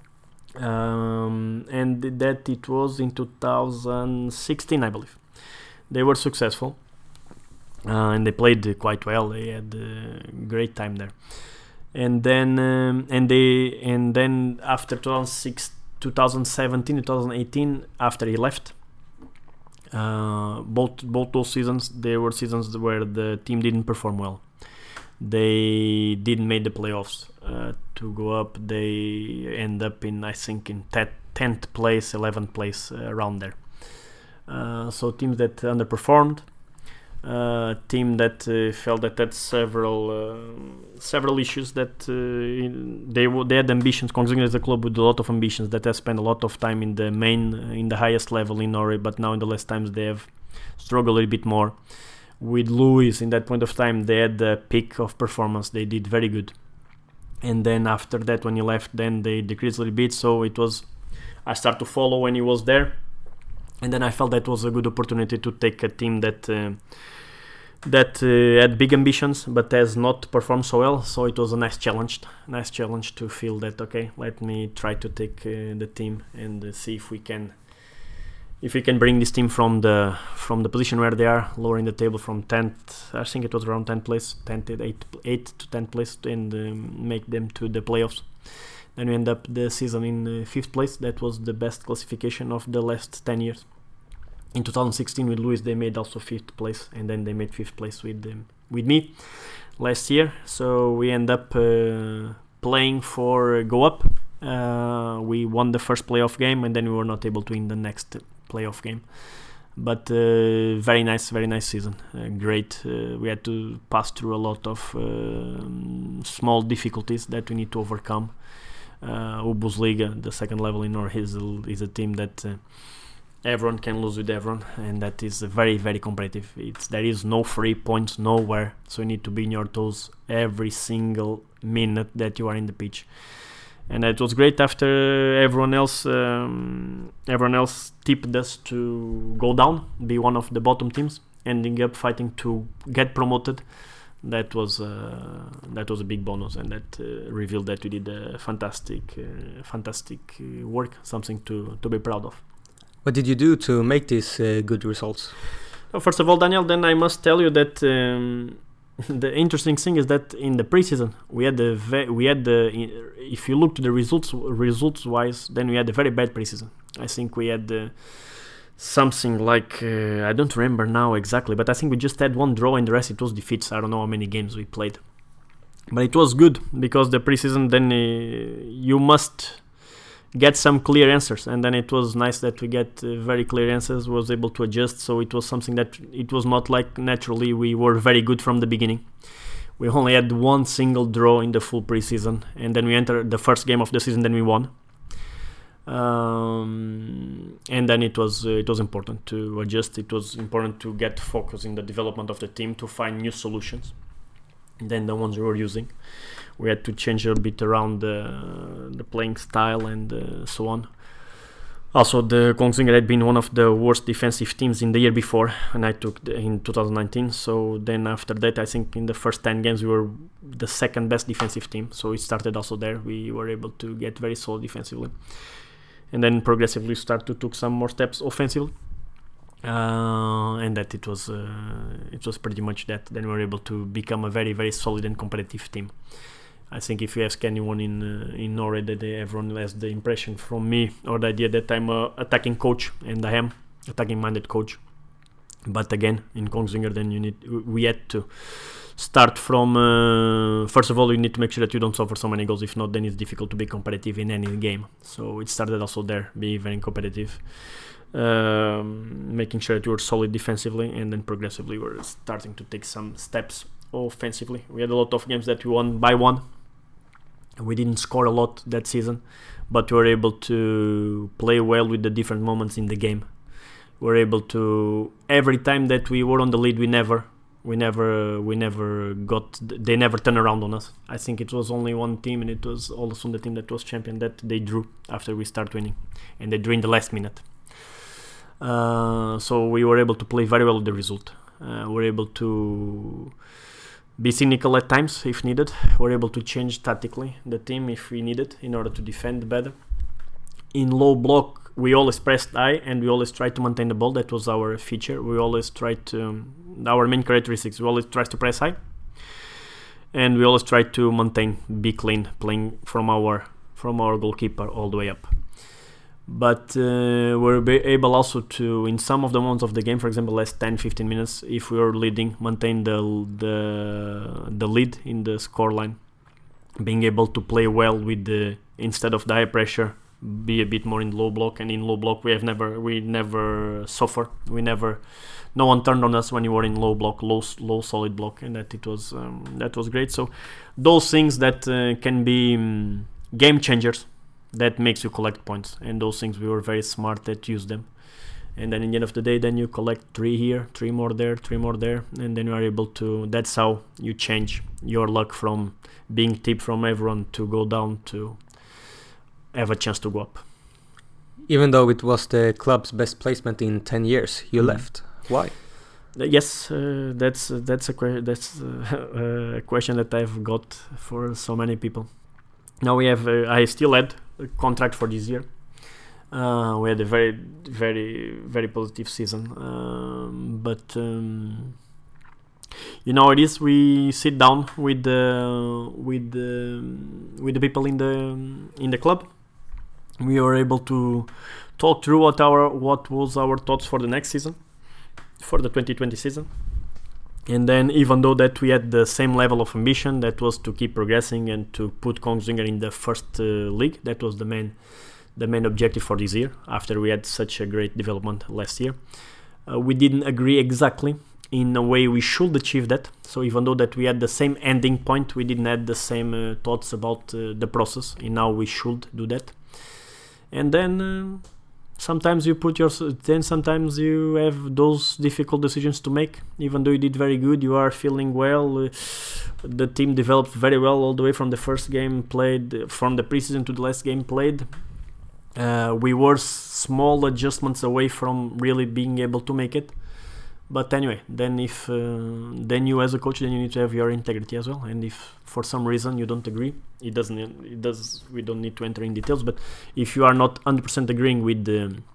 And that it was in 2016, I believe. They were successful, and they played quite well. They had a great time there. And then after 2017, 2018, after he left, both those seasons, they were seasons where the team didn't perform well. They didn't make the playoffs to go up. They end up in, I think, in 10th place, 11th place, around there. So teams that underperformed, team that felt that had several issues, that they had ambitions. Kongsvinger is a club with a lot of ambitions that has spent a lot of time in the highest level in Norway, but now in the last times they have struggled a little bit more. With Luis, in that point of time, they had the peak of performance. They did very good, and then after that, when he left, then they decreased a little bit. So it was, I started to follow when he was there, and then I felt that was a good opportunity to take a team that had big ambitions but has not performed so well. So it was a nice challenge to feel that, okay, let me try to take the team and see if we can bring this team from the position where they are, lowering the table from 10th, I think it was around 10th place, 8th to 10th place, and make them to the playoffs. Then we end up the season in 5th place. That was the best classification of the last 10 years. In 2016 with Luis, they made also 5th place, and then they made 5th place with me last year. So we end up playing for go up. We won the first playoff game, and then we were not able to win the next playoff game. But very nice season. Great. We had to pass through a lot of small difficulties that we need to overcome. Obosliga, the second level in Norway, is a team that everyone can lose with everyone, and that is very, very competitive. There is no free points nowhere, so you need to be in your toes every single minute that you are in the pitch. And it was great after everyone else tipped us to go down, be one of the bottom teams, ending up fighting to get promoted. That was a big bonus, and that revealed that we did a fantastic work, something to be proud of. What did you do to make these good results? First of all, Daniel, then I must tell you that the interesting thing is that in the preseason if you look to the results wise, then we had a very bad preseason. I think we had something like I don't remember now exactly, but I think we just had one draw and the rest it was defeats. I don't know how many games we played, but it was good because the preseason, then you must get some clear answers, and then it was nice that we get very clear answers, was able to adjust. So it was something that it was not like naturally we were very good from the beginning. We only had one single draw in the full preseason, and then we entered the first game of the season, then we won. And then it was important to adjust. It was important to get focus in the development of the team, to find new solutions than the ones we were using. We had to change a bit around the playing style and so on. Also, the Kongsvinger had been one of the worst defensive teams in the year before, and I took in 2019. So then after that, I think in the first 10 games we were the second best defensive team. So it started also there. We were able to get very solid defensively, and then progressively start to take some more steps offensively. And that it was pretty much that. Then we were able to become a very, very solid and competitive team. I think if you ask anyone in Norway, that everyone has the impression from me or the idea that I'm a attacking coach, and I am attacking minded coach. But again, in Kongsvinger, then we had to start from first of all, you need to make sure that you don't suffer so many goals. If not, then it's difficult to be competitive in any game. So it started also there, be very competitive. Making sure that you were solid defensively, and then progressively we're starting to take some steps offensively. We had a lot of games that we won by one. We didn't score a lot that season, but we were able to play well with the different moments in the game. We were able to, every time that we were on the lead, they never turned around on us. I think it was only one team, and it was also the team that was champion, that they drew after we start winning, and they drew in the last minute. So we were able to play very well with the result. We're able to be cynical at times if needed. We're able to change tactically the team if we needed in order to defend better. In low block, we always pressed high and we always tried to maintain the ball. That was our feature. We always tried to, our main characteristics, we always tried to press high. And we always tried to maintain, be clean, playing from our goalkeeper all the way up. But we're able also to, in some of the moments of the game, for example, last 10-15 minutes, if we were leading, maintain the lead in the scoreline, being able to play well with the, instead of the high pressure, be a bit more in low block. And in low block, we never suffer. No one turned on us when we were in low block, low solid block, and that was great. So those things that can be game changers, that makes you collect points, and those things we were very smart at use them. And then in the end of the day, then you collect 3 here, 3 more there, 3 more there, and then you are able to, that's how you change your luck from being tipped from everyone to go down to have a chance to go up. Even though it was the club's best placement in 10 years, you left. Why? Yes, that's a question that I've got for so many people. Now we have, I still had a contract for this year. We had a very, very, very positive season. But you know, it is, we sit down with the people in the club. We were able to talk through what was our thoughts for the next season, for the 2020 season. And then, even though that we had the same level of ambition, that was to keep progressing and to put Kongsvinger in the first league, that was the main objective for this year, after we had such a great development last year. We didn't agree exactly in a way we should achieve that. So even though that we had the same ending point, we didn't have the same thoughts about the process and how we should do that. And then sometimes sometimes you have those difficult decisions to make. Even though you did very good, you are feeling well. The team developed very well all the way from the first game played, from the preseason to the last game played. We were small adjustments away from really being able to make it. But anyway, then then you as a coach, then you need to have your integrity as well. And if for some reason you don't agree, we don't need to enter in details. But if you are not 100% agreeing with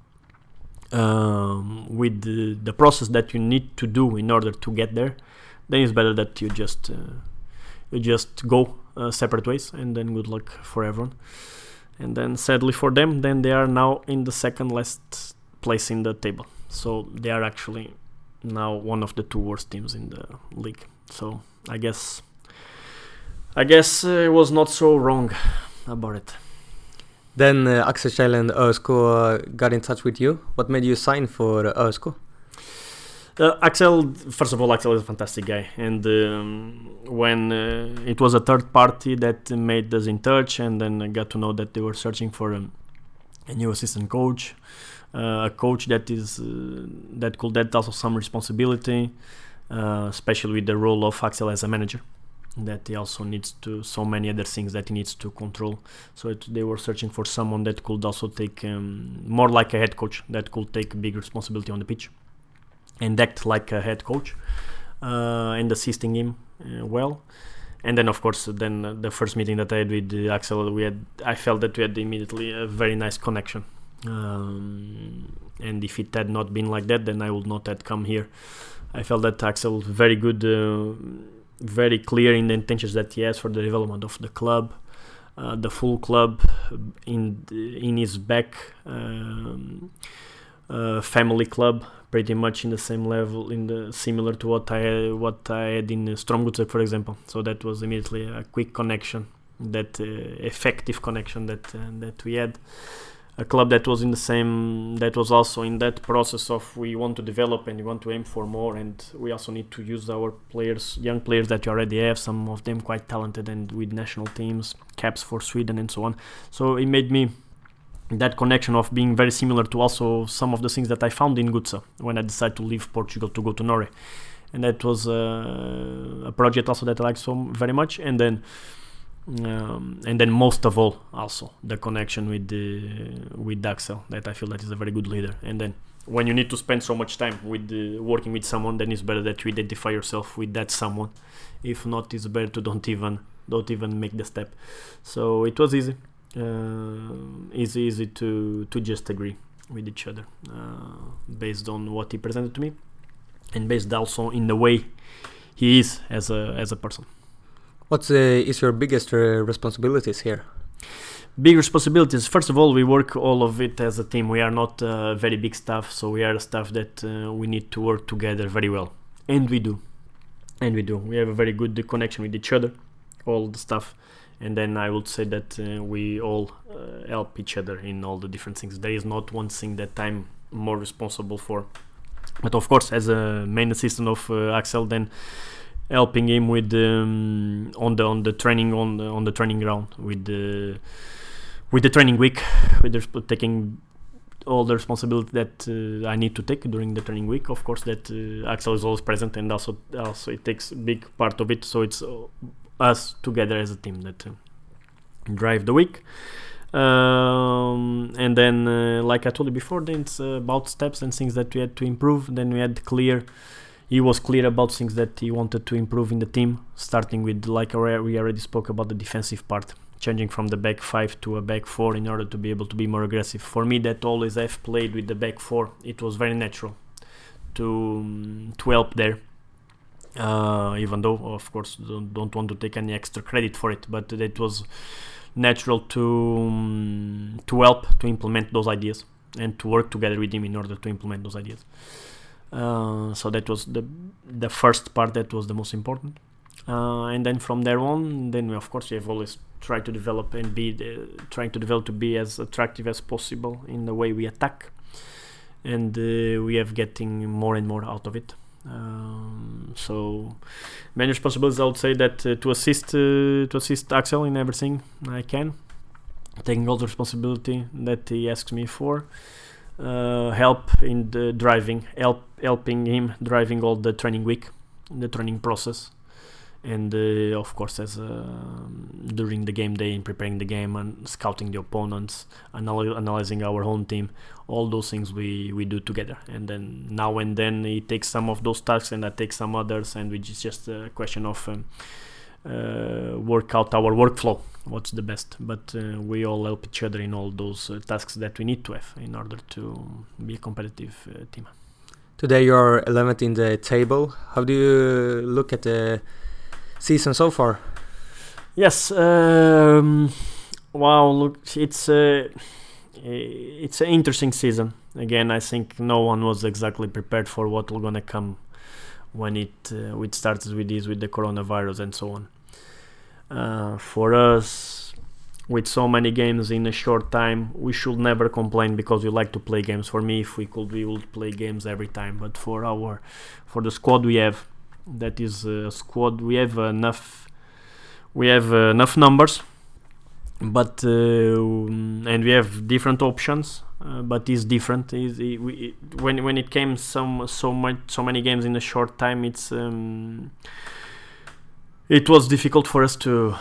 the process that you need to do in order to get there, then it's better that you just go separate ways, and then good luck for everyone. And then sadly for them, then they are now in the second last place in the table. So they are actually now one of the 2 worst teams in the league. So I guess it was not so wrong about it. Then Axel Kjell and ÖSK got in touch with you. What made you sign for ÖSK? Axel, first of all, Axel is a fantastic guy, and when it was a third party that made us in touch, and then I got to know that they were searching for a new assistant coach, a coach that could have also some responsibility, especially with the role of Axel as a manager, that he also needs to, so many other things that he needs to control. So they were searching for someone that could also take more like a head coach, that could take big responsibility on the pitch and act like a head coach, and assisting him well. And then of course, then the first meeting that I had with Axel, I felt that we had immediately a very nice connection. And if it had not been like that, then I would not have come here. I felt that Axel very good, very clear in the intentions that he has for the development of the club, the full club in his back, family club, pretty much in the same level, similar to what I had in Strømgodset, for example. So that was immediately a quick connection, that effective connection that we had. A club that was that was also in that process of we want to develop and we want to aim for more, and we also need to use our players, young players that you already have, some of them quite talented and with national teams, caps for Sweden and so on. So it made me that connection of being very similar to also some of the things that I found in Godset when I decided to leave Portugal to go to Norway. And that was a project also that I liked so very much. And then most of all, also the connection with Axel, that I feel that is a very good leader. And then when you need to spend so much time with working with someone, then it's better that you identify yourself with that someone. If not, it's better to don't even make the step. So it was easy to just agree with each other, based on what he presented to me, and based also in the way he is as a person. What is your biggest responsibilities here? Big responsibilities. First of all, we work all of it as a team. We are not very big staff, so we are a staff that we need to work together very well, and we do. We have a very good connection with each other, all the stuff, and then I would say that we all help each other in all the different things. There is not one thing that I'm more responsible for, but of course, as a main assistant of Axel, then helping him with on the training on the training ground with the training week, with taking all the responsibility that I need to take during the training week. Of course, that Axel is always present, and also it takes a big part of it. So it's us together as a team that drive the week. And then, like I told you before, then it's about steps and things that we had to improve. Then he was clear about things that he wanted to improve in the team, starting with, like we already spoke about, the defensive part, changing from the back 5 to a back 4 in order to be able to be more aggressive. For me, that always I've played with the back 4, it was very natural to help there, even though, of course, don't want to take any extra credit for it, but it was natural to help to implement those ideas and to work together with him in order to implement those ideas. So that was the first part that was the most important, and then from there on, then we have always tried to develop and to be as attractive as possible in the way we attack, and we have getting more and more out of it. So many responsibilities. I would say that to assist Axel in everything I can, taking all the responsibility that he asks me for. Help in the driving, helping him driving all the training week, the training process, and of course as during the game day, in preparing the game and scouting the opponents, analyzing our home team, all those things we do together. And then now and then he takes some of those tasks and I take some others, and which is just a question of work out our workflow, what's the best, but we all help each other in all those tasks that we need to have in order to be a competitive team. Today you're 11th in the table. How do you look at the season so far? Yes, wow, look, it's an interesting season. Again, I think no one was exactly prepared for what was gonna come when it starts with the coronavirus and so on. For us, with so many games in a short time, we should never complain because we like to play games. For me, if we could, we would play games every time. But for the squad we have, that is a squad, we have enough numbers, but and we have different options. But it's different. When it came so many games in a short time, it was difficult for us to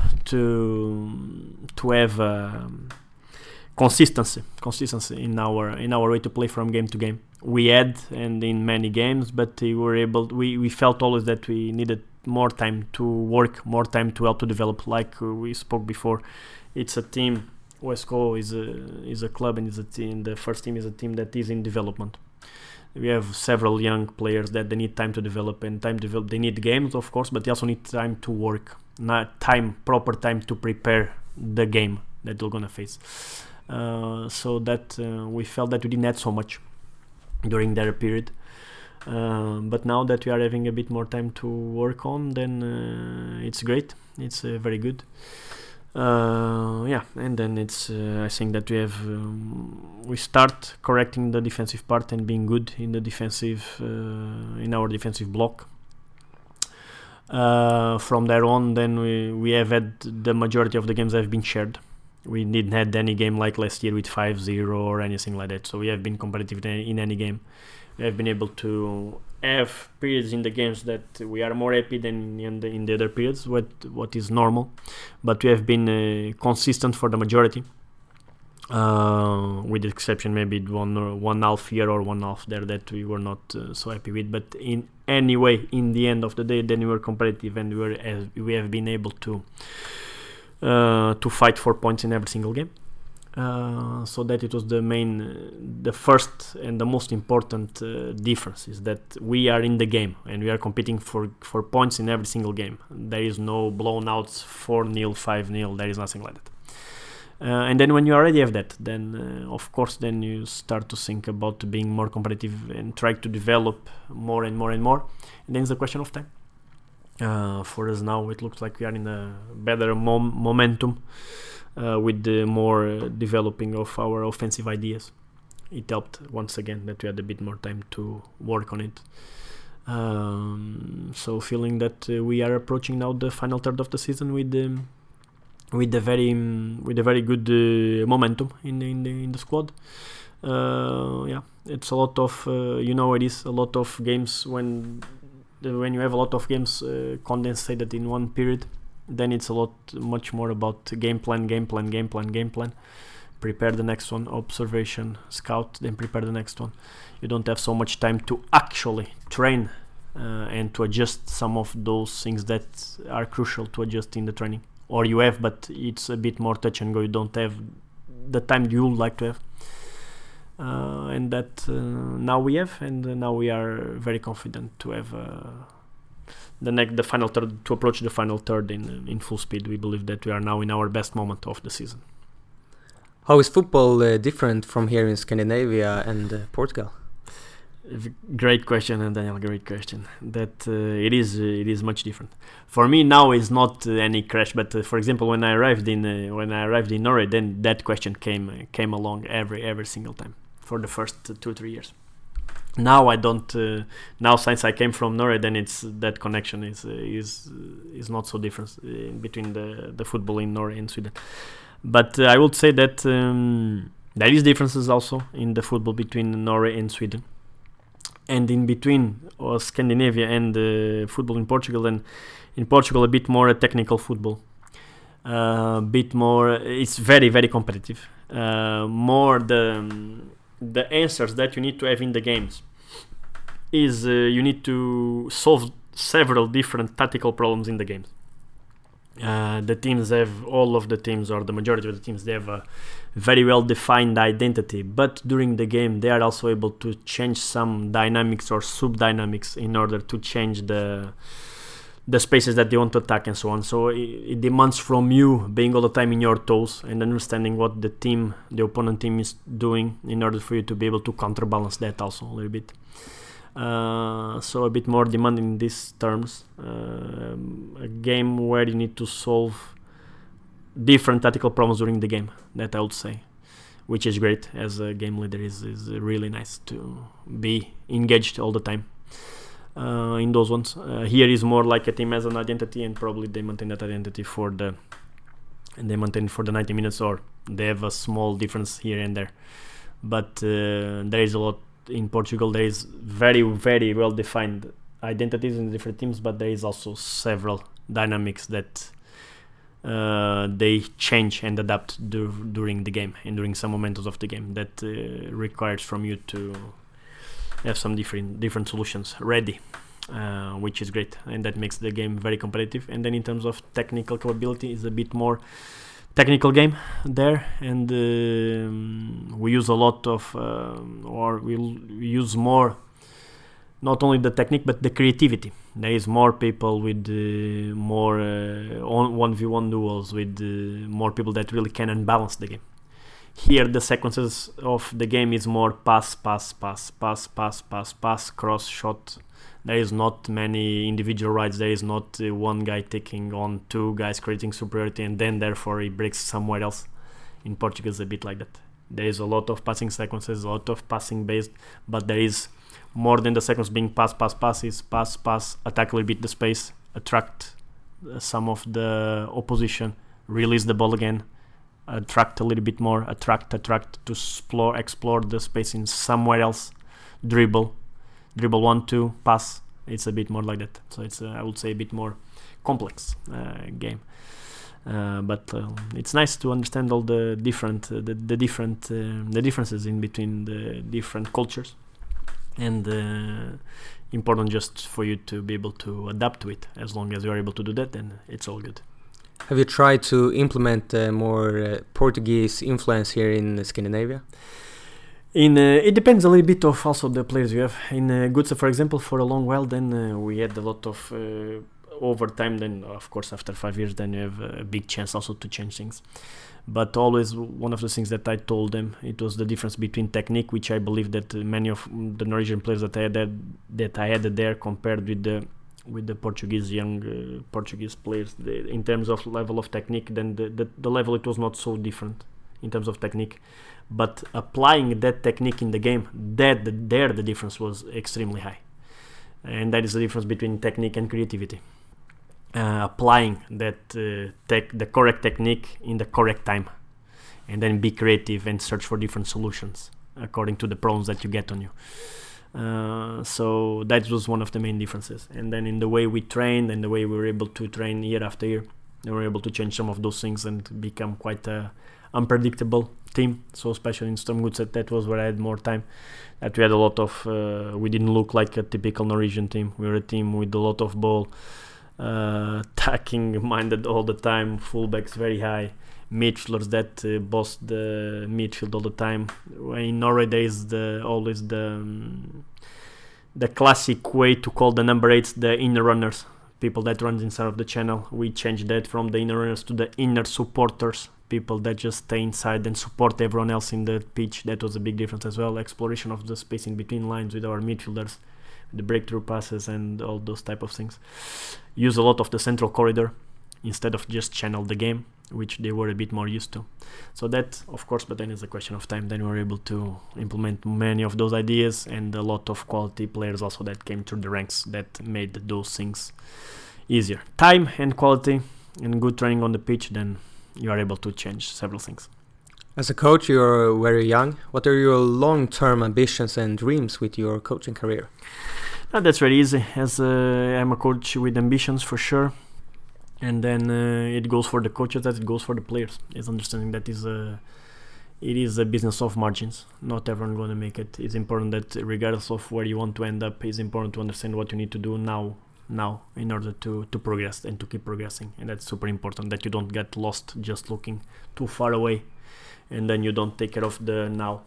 have consistency in our way to play from game to game. We had, and in many games, but we felt always that we needed more time to work, more time to help to develop. Like we spoke before, it's a team. OSCO is a club, and is a team. The first team is a team that is in development. We have several young players that they need time to develop, and they need games, of course, but they also need time to work, proper time to prepare the game that they're gonna face. So that we felt that we didn't have so much during their period, but now that we are having a bit more time to work on, then it's great. It's very good. And then it's I think that we start correcting the defensive part and being good in the defensive in our defensive block. From there on, then we have had the majority of the games have been shared. We didn't had any game like last year with 5-0 or anything like that, so we have been competitive in any game. We have been able to have periods in the games that we are more happy than in the other periods, what is normal, but we have been consistent for the majority, with the exception maybe one half here or one half there that we were not so happy with. But in any way, in the end of the day, then we were competitive, and we have been able to fight for points in every single game. So that it was the first and the most important difference is that we are in the game and we are competing for points in every single game. There is no blown outs 4-0, 5-0. There is nothing like that. And then when you already have that, then of course then you start to think about being more competitive and try to develop more and more and more. And then it's a question of time. For us now, it looks like we are in a better momentum with the more developing of our offensive ideas. It helped once again that we had a bit more time to work on it. So feeling that we are approaching now the final third of the season with a very good momentum in the squad. It's a lot of it is a lot of games when you have a lot of games condensated in one period. Then it's much more about game plan. Prepare the next one, observation, scout, then prepare the next one. You don't have so much time to actually train and to adjust some of those things that are crucial to adjust in the training. Or you have, but it's a bit more touch and go. You don't have the time you would like to have. And that now we have, and now we are very confident to have the final third, to approach the final third in full speed. We believe that we are now in our best moment of the season. How is football different from here in Scandinavia and Portugal? Great question, Daniel. Great question. That it is much different. For me now is not any crash, but for example, when I arrived in Norway, then that question came along every single time for the first 2-3 years. Now I don't. Now since I came from Norway, then it's that connection is not so different between the football in Norway and Sweden. But I would say that there is differences also in the football between Norway and Sweden, and in between Scandinavia and football in Portugal. And in Portugal, a bit more a technical football, a bit more. It's very very competitive. More the answers that you need to have in the games is you need to solve several different tactical problems in the games. The teams have, all of the teams or the majority of the teams, they have a very well defined identity, but during the game they are also able to change some dynamics or sub-dynamics in order to change the spaces that they want to attack and so on. So it demands from you being all the time in your toes and understanding what the opponent team is doing in order for you to be able to counterbalance that also a little bit. So a bit more demanding in these terms. A game where you need to solve different tactical problems during the game, that I would say, which is great. As a game leader, is really nice to be engaged all the time. In those ones, here is more like a team has an identity, and probably they maintain that identity for the 90 minutes, or they have a small difference here and there. But there is a lot in Portugal. There is very very well defined identities in different teams, but there is also several dynamics that they change and adapt during the game and during some momentos of the game that requires from you to have some different solutions ready, which is great, and that makes the game very competitive. And then in terms of technical capability, is a bit more technical game there, and we use a lot of or we'll use more, not only the technique but the creativity. There is more people with more 1v1 duels, with more people that really can unbalance the game. Here the sequences of the game is more pass, cross, shot. There is not many individual rides. There is not one guy taking on two guys, creating superiority, and then therefore he breaks somewhere else. In Portugal it's a bit like that. There is a lot of passing sequences, a lot of passing based, but there is more than the sequence being pass, is pass, attack a little bit the space, attract some of the opposition, release the ball again, attract a little bit more, attract to explore the space in somewhere else, dribble 1-2, pass. It's a bit more like that. So it's I would say a bit more complex game. But it's nice to understand all the different the differences in between the different cultures, and important just for you to be able to adapt to it. As long as you are able to do that, then it's all good. Have you tried to implement more Portuguese influence here in Scandinavia? It depends a little bit of also the players you have. In Gutsa, for example, for a long while, then we had a lot of over time. Then, of course, after 5 years, then you have a big chance also to change things. But always one of the things that I told them, it was the difference between technique, which I believe that many of the Norwegian players that I had there compared with the Portuguese young Portuguese players, in terms of level of technique, then the level, it was not so different in terms of technique. But applying that technique in the game, the difference was extremely high. And that is the difference between technique and creativity. Applying that the correct technique in the correct time, and then be creative and search for different solutions according to the problems that you get on you. So that was one of the main differences. And then in the way we trained and the way we were able to train year after year, we were able to change some of those things and become quite a unpredictable team. So especially in Strømsgodset, that was where I had more time. That we had a lot of we didn't look like a typical Norwegian team. We were a team with a lot of ball, attacking minded all the time, fullbacks very high, midfielders that bossed the midfield all the time. In Norway there is always the classic way to call the number 8s the inner runners, people that runs inside of the channel. We changed that from the inner runners to the inner supporters, people that just stay inside and support everyone else in the pitch. That was a big difference as well. Exploration of the spacing between lines with our midfielders, the breakthrough passes and all those type of things. Use a lot of the central corridor instead of just channel the game, which they were a bit more used to. So that, of course, but then it's a question of time. Then we were able to implement many of those ideas, and a lot of quality players also that came through the ranks that made those things easier. Time and quality and good training on the pitch, then you are able to change several things. As a coach, you're very young. What are your long-term ambitions and dreams with your coaching career? That's very easy. As I'm a coach with ambitions for sure. And then it goes for the coaches as it goes for the players. It's understanding that it is a business of margins. Not everyone going to make it. It's important that regardless of where you want to end up, it's important to understand what you need to do now in order to progress and to keep progressing. And that's super important, that you don't get lost just looking too far away and then you don't take care of the now.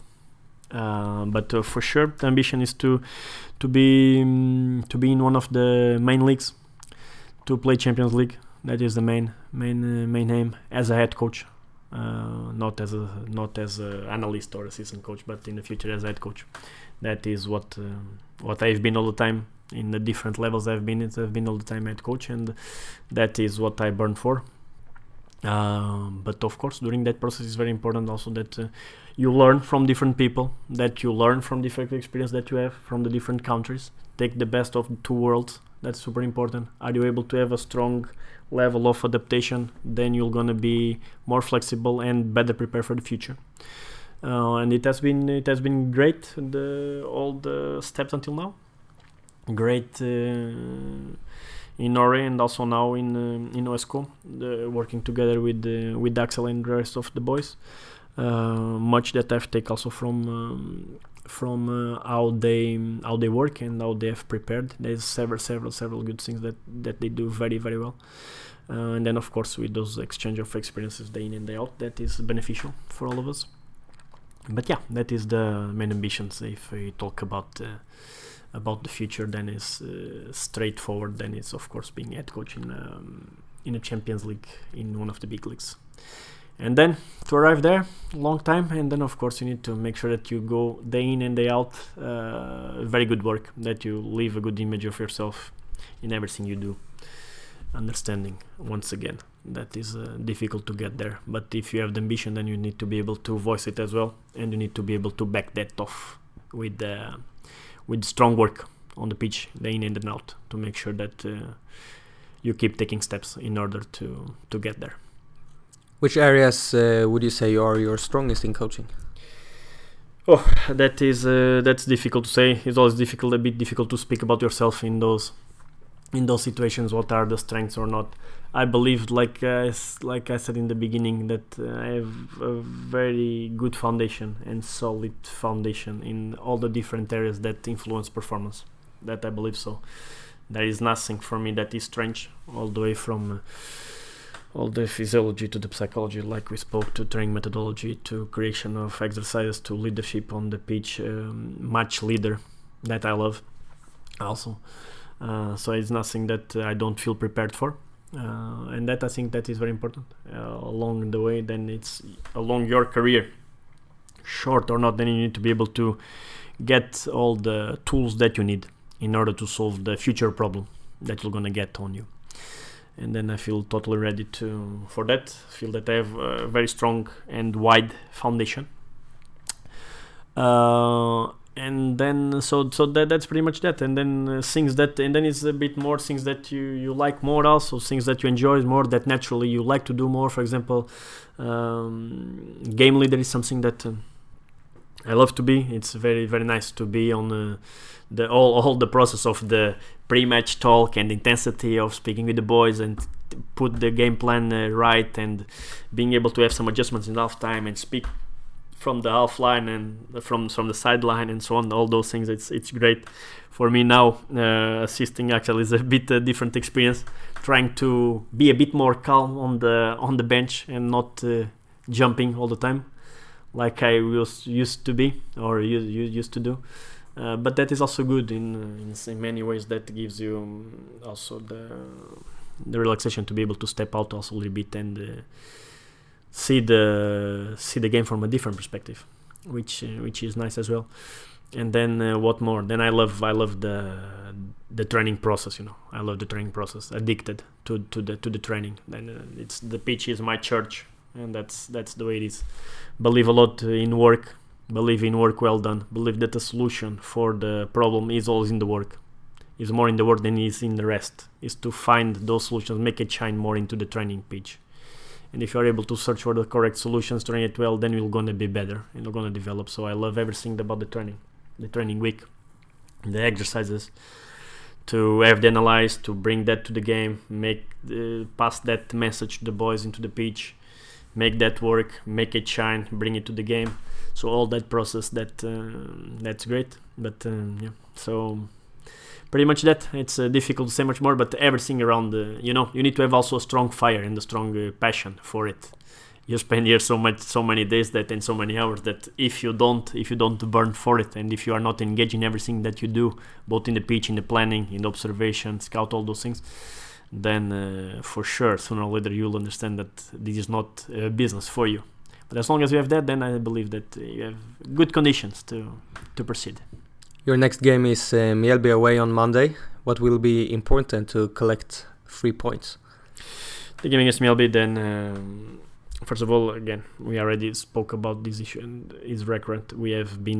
But for sure the ambition is to be in one of the main leagues, to play Champions League. That is the main aim as a head coach, not as a analyst or assistant coach, but in the future as a head coach. That is what I've been all the time in the different levels I've been all the time head coach, and that is what I burn for. But of course, during that process, it's very important also that you learn from different people, that you learn from different experience that you have from the different countries. Take the best of the two worlds. That's super important. Are you able to have a strong level of adaptation? Then you're gonna be more flexible and better prepared for the future. And it has been great. All the steps until now, great in Norway and also now in OSK, working together with Axel and the rest of the boys. Much that I've taken also from how they work and how they have prepared. There's several good things that they do very, very well. And then of course with those exchange of experiences day in and day out, that is beneficial for all of us. But yeah, that is the main ambitions. If we talk about the future, then is straightforward. Then it's of course being head coach in a Champions League, in one of the big leagues. And then to arrive there, long time, and then of course you need to make sure that you go day in and day out, very good work, that you leave a good image of yourself in everything you do. Understanding, once again, that is difficult to get there, but if you have the ambition, then you need to be able to voice it as well, and you need to be able to back that off with strong work on the pitch, day in and out, to make sure that you keep taking steps in order to get there. Which areas would you say are your strongest in coaching? Oh, that's difficult to say. It's always a bit difficult to speak about yourself in those in those situations what are the strengths or not. I believe, like I said in the beginning, that I have a very good foundation and solid foundation in all the different areas that influence performance. That I believe so. There is nothing for me that is strange, all the way from all the physiology to the psychology, like we spoke, to training methodology, to creation of exercises, to leadership on the pitch, match leader, that I love also. So it's nothing that I don't feel prepared for. And that I think that is very important along the way. Then it's along your career, short or not, then you need to be able to get all the tools that you need in order to solve the future problem that you're gonna get on you. And then I feel totally ready for that. I feel that I have a very strong and wide foundation. And then that's pretty much that. And then things that, and then it's a bit more things that you like more, also things that you enjoy more, that naturally you like to do more. For example, game leader is something that I love to be. It's very, very nice to be on all the process of the pre-match talk and intensity of speaking with the boys and put the game plan right, and being able to have some adjustments in half time and speak from the half line and from the sideline and so on. All those things, it's great for me now. Assisting actually is a bit different experience, trying to be a bit more calm on the bench and not jumping all the time like I used to be or used to do. But that is also good in many ways. That gives you also the relaxation to be able to step out also a little bit and see the game from a different perspective, which is nice as well. And then what more? Then I love the training process. I love the training process. Addicted to the training. Then it's the pitch is my church, and that's the way it is. Believe a lot in work. Believe in work well done. Believe that the solution for the problem is always in the work. Is more in the work than is in the rest. Is to find those solutions, make it shine more into the training pitch. And if you're able to search for the correct solutions, train it well, then you're gonna be better and you're gonna develop. So I love everything about the training week, the exercises, to have the analyze, to bring that to the game, pass that message to the boys into the pitch, make that work, make it shine, bring it to the game. So all that process, that's great. But yeah, so pretty much that. It's difficult to say much more, but everything around you need to have also a strong fire and a strong passion for it. You spend here so many days and so many hours that if you don't burn for it, and if you are not engaged in everything that you do, both in the pitch, in the planning, in the observation, scout, all those things, then for sure sooner or later you'll understand that this is not a business for you. But as long as you have that, then I believe that you have good conditions to proceed. Your next game is Mjällby away on Monday. What will be important to collect 3 points? The game against Mjällby, then first of all, again, we already spoke about this issue and it's recurrent. We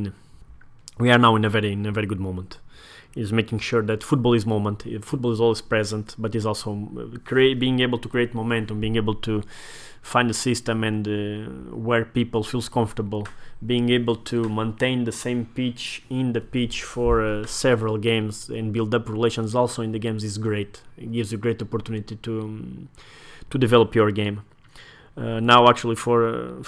are now in a very good moment. Is making sure that football is moment. Football is always present, but is also being able to create momentum, being able to find a system and where people feels comfortable, being able to maintain the same pitch in the pitch for several games and build up relations also in the games is great. It gives you great opportunity to develop your game. Now actually for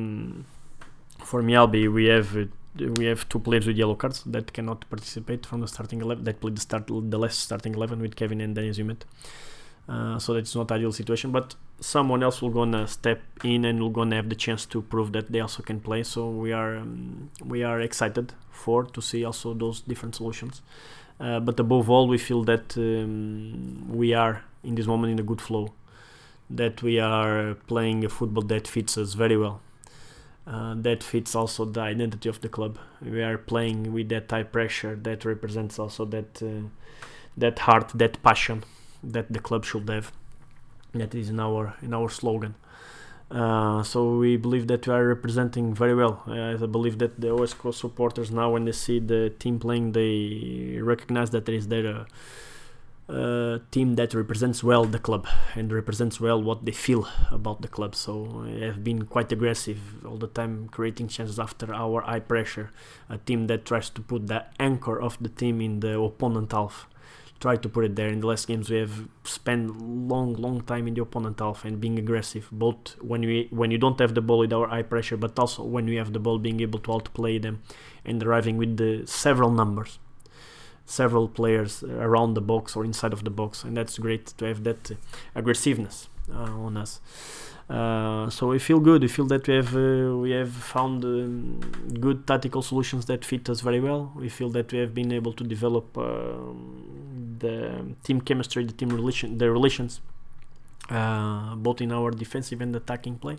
Mjällby we have 2 players with yellow cards that cannot participate from the starting 11. That played the last starting 11 with Kevin and Dennis Humet. So that's not ideal situation, but someone else will gonna step in and will gonna have the chance to prove that they also can play. So we are excited to see also those different solutions. But above all, we feel that we are in this moment in a good flow, that we are playing a football that fits us very well. That fits also the identity of the club. We are playing with that high pressure that represents also that heart, that passion that the club should have. That is in our slogan. So we believe that we are representing very well. I believe that the OSK supporters now, when they see the team playing, they recognize that there is there a team that represents well the club and represents well what they feel about the club. So I have been quite aggressive all the time, creating chances after our high pressure. A team that tries to put the anchor of the team in the opponent half, try to put it there. In the last games we have spent long time in the opponent half and being aggressive, both when you don't have the ball with our high pressure, but also when we have the ball, being able to outplay them and arriving with the several players around the box or inside of the box, and that's great to have that aggressiveness on us. So we feel good. We feel that we have found good tactical solutions that fit us very well. We feel that we have been able to develop the team chemistry, the relations, both in our defensive and attacking play.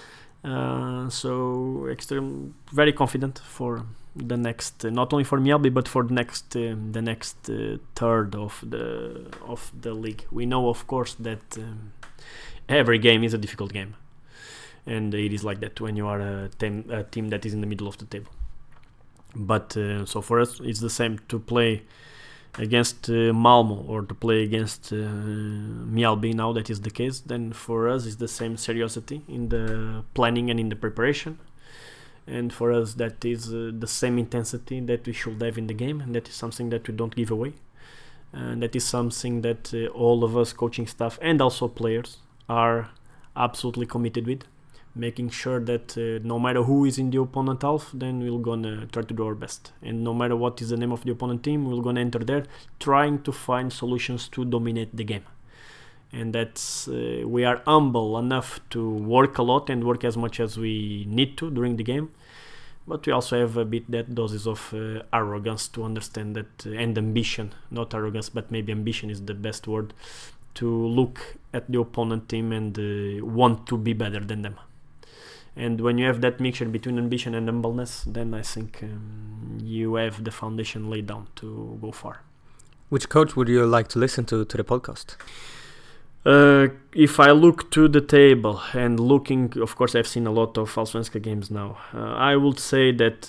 So very confident for the next, not only for Mjällby but for the next third of the league. We know, of course, that every game is a difficult game, and it is like that when you are a team that is in the middle of the table. But so for us, it's the same to play against Malmo or to play against Mjällby. Now that is the case, then for us it's the same seriousness in the planning and in the preparation, and for us that is the same intensity that we should have in the game, and that is something that we don't give away, and that is something that all of us, coaching staff and also players, are absolutely committed with, making sure that no matter who is in the opponent half, then we're gonna try to do our best, and no matter what is the name of the opponent team, we're gonna enter there trying to find solutions to dominate the game. And that's we are humble enough to work a lot and work as much as we need to during the game, but we also have a bit that doses of arrogance to understand that, and ambition, not arrogance but maybe ambition is the best word, to look at the opponent team and want to be better than them. And when you have that mixture between ambition and humbleness, then I think you have the foundation laid down to go far. Which coach would you like to listen to the podcast? If I look to the table and looking, of course I've seen a lot of Allsvenskan games now, I would say that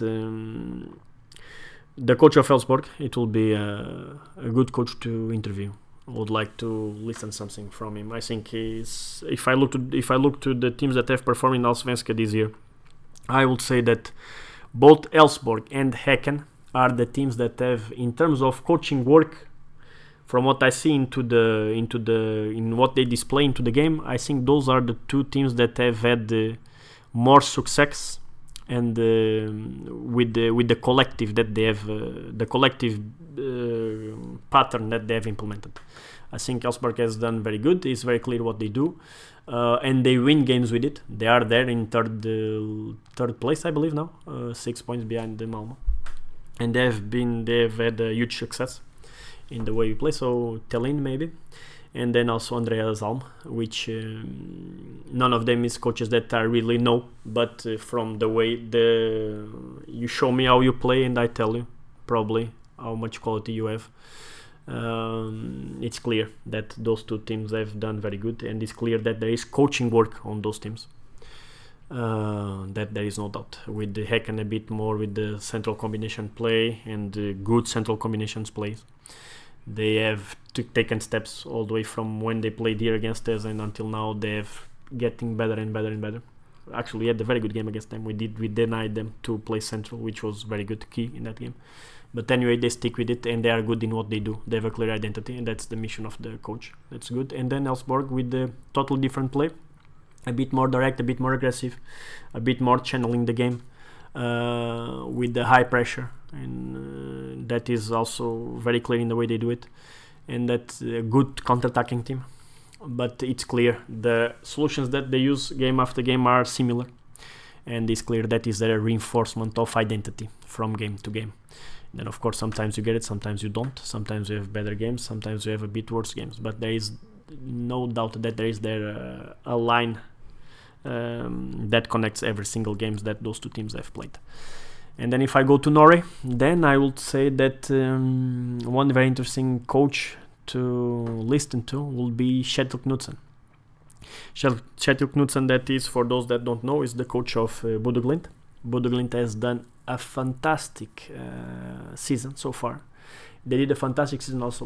the coach of Elfsborg, it will be a good coach to interview. I would like to listen something from him. I think if I look to the teams that have performed in Allsvenskan this year, I would say that both Elfsborg and Häcken are the teams that have, in terms of coaching work, from what I see in what they display into the game, I think those are the two teams that have had more success, and with the collective that they have, the collective pattern that they have implemented. I think Elfsborg has done very good. It's very clear what they do, and they win games with it. They are there in third place, I believe now, 6 points behind the Malmo, and they have had a huge success in the way we play. So Thelin maybe, and then also Andreas Alm, which none of them is coaches that I really know, but from the way you show me how you play and I tell you probably how much quality you have, it's clear that those two teams have done very good, and it's clear that there is coaching work on those teams, that there is no doubt. With the Häcken a bit more with the central combination play and good central combinations plays, they have taken steps all the way from when they played here against us and until now. They have getting better and better and better. Actually, we had a very good game against them. We denied them to play central, which was very good key in that game. But anyway, they stick with it and they are good in what they do. They have a clear identity, and that's the mission of the coach. That's good. And then Elfsborg with the totally different play, a bit more direct, a bit more aggressive, a bit more channeling the game, with the high pressure, and that is also very clear in the way they do it, and that's a good counter-attacking team. But it's clear the solutions that they use game after game are similar, and it's clear that is a reinforcement of identity from game to game. Then of course sometimes you get it, sometimes you don't, sometimes you have better games, sometimes you have a bit worse games, but there is no doubt that there is a line that connects every single games that those two teams have played. And then if I go to Norway, then I would say that one very interesting coach to listen to will be Kjetil Knutsen. Kjetil Knutsen, that is, for those that don't know, is the coach of Bodø Glimt. Bodø Glimt has done a fantastic season so far. They did a fantastic season also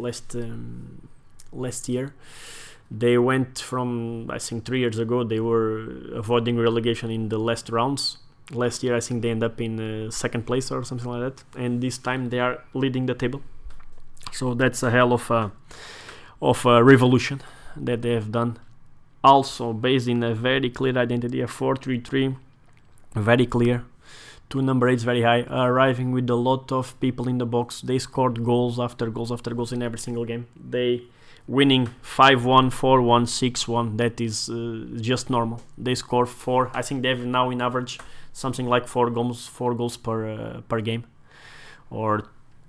last year. They went from, I think 3 years ago, they were avoiding relegation in the last rounds. Last year, I think they end up in second place or something like that. And this time they are leading the table. So that's a hell of a revolution that they have done. Also based in a very clear identity, a 4-3-3, very clear. 2 number 8s very high, arriving with a lot of people in the box. They scored goals after goals after goals in every single game. They winning 5-1, 4-1, 6-1. That is just normal. They score 4. I think they have now in average something like 4 goals per game, or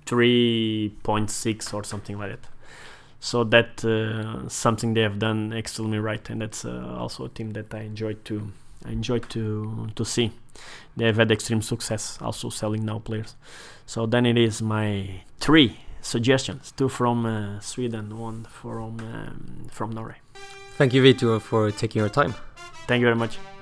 3.6 or something like that. So that something they have done extremely right, and that's also a team that I enjoyed to see. They have had extreme success also selling now players. So then it is my 3 suggestions, 2 from Sweden, 1 from Norway. Thank you, Vitor, for taking your time. Thank you very much.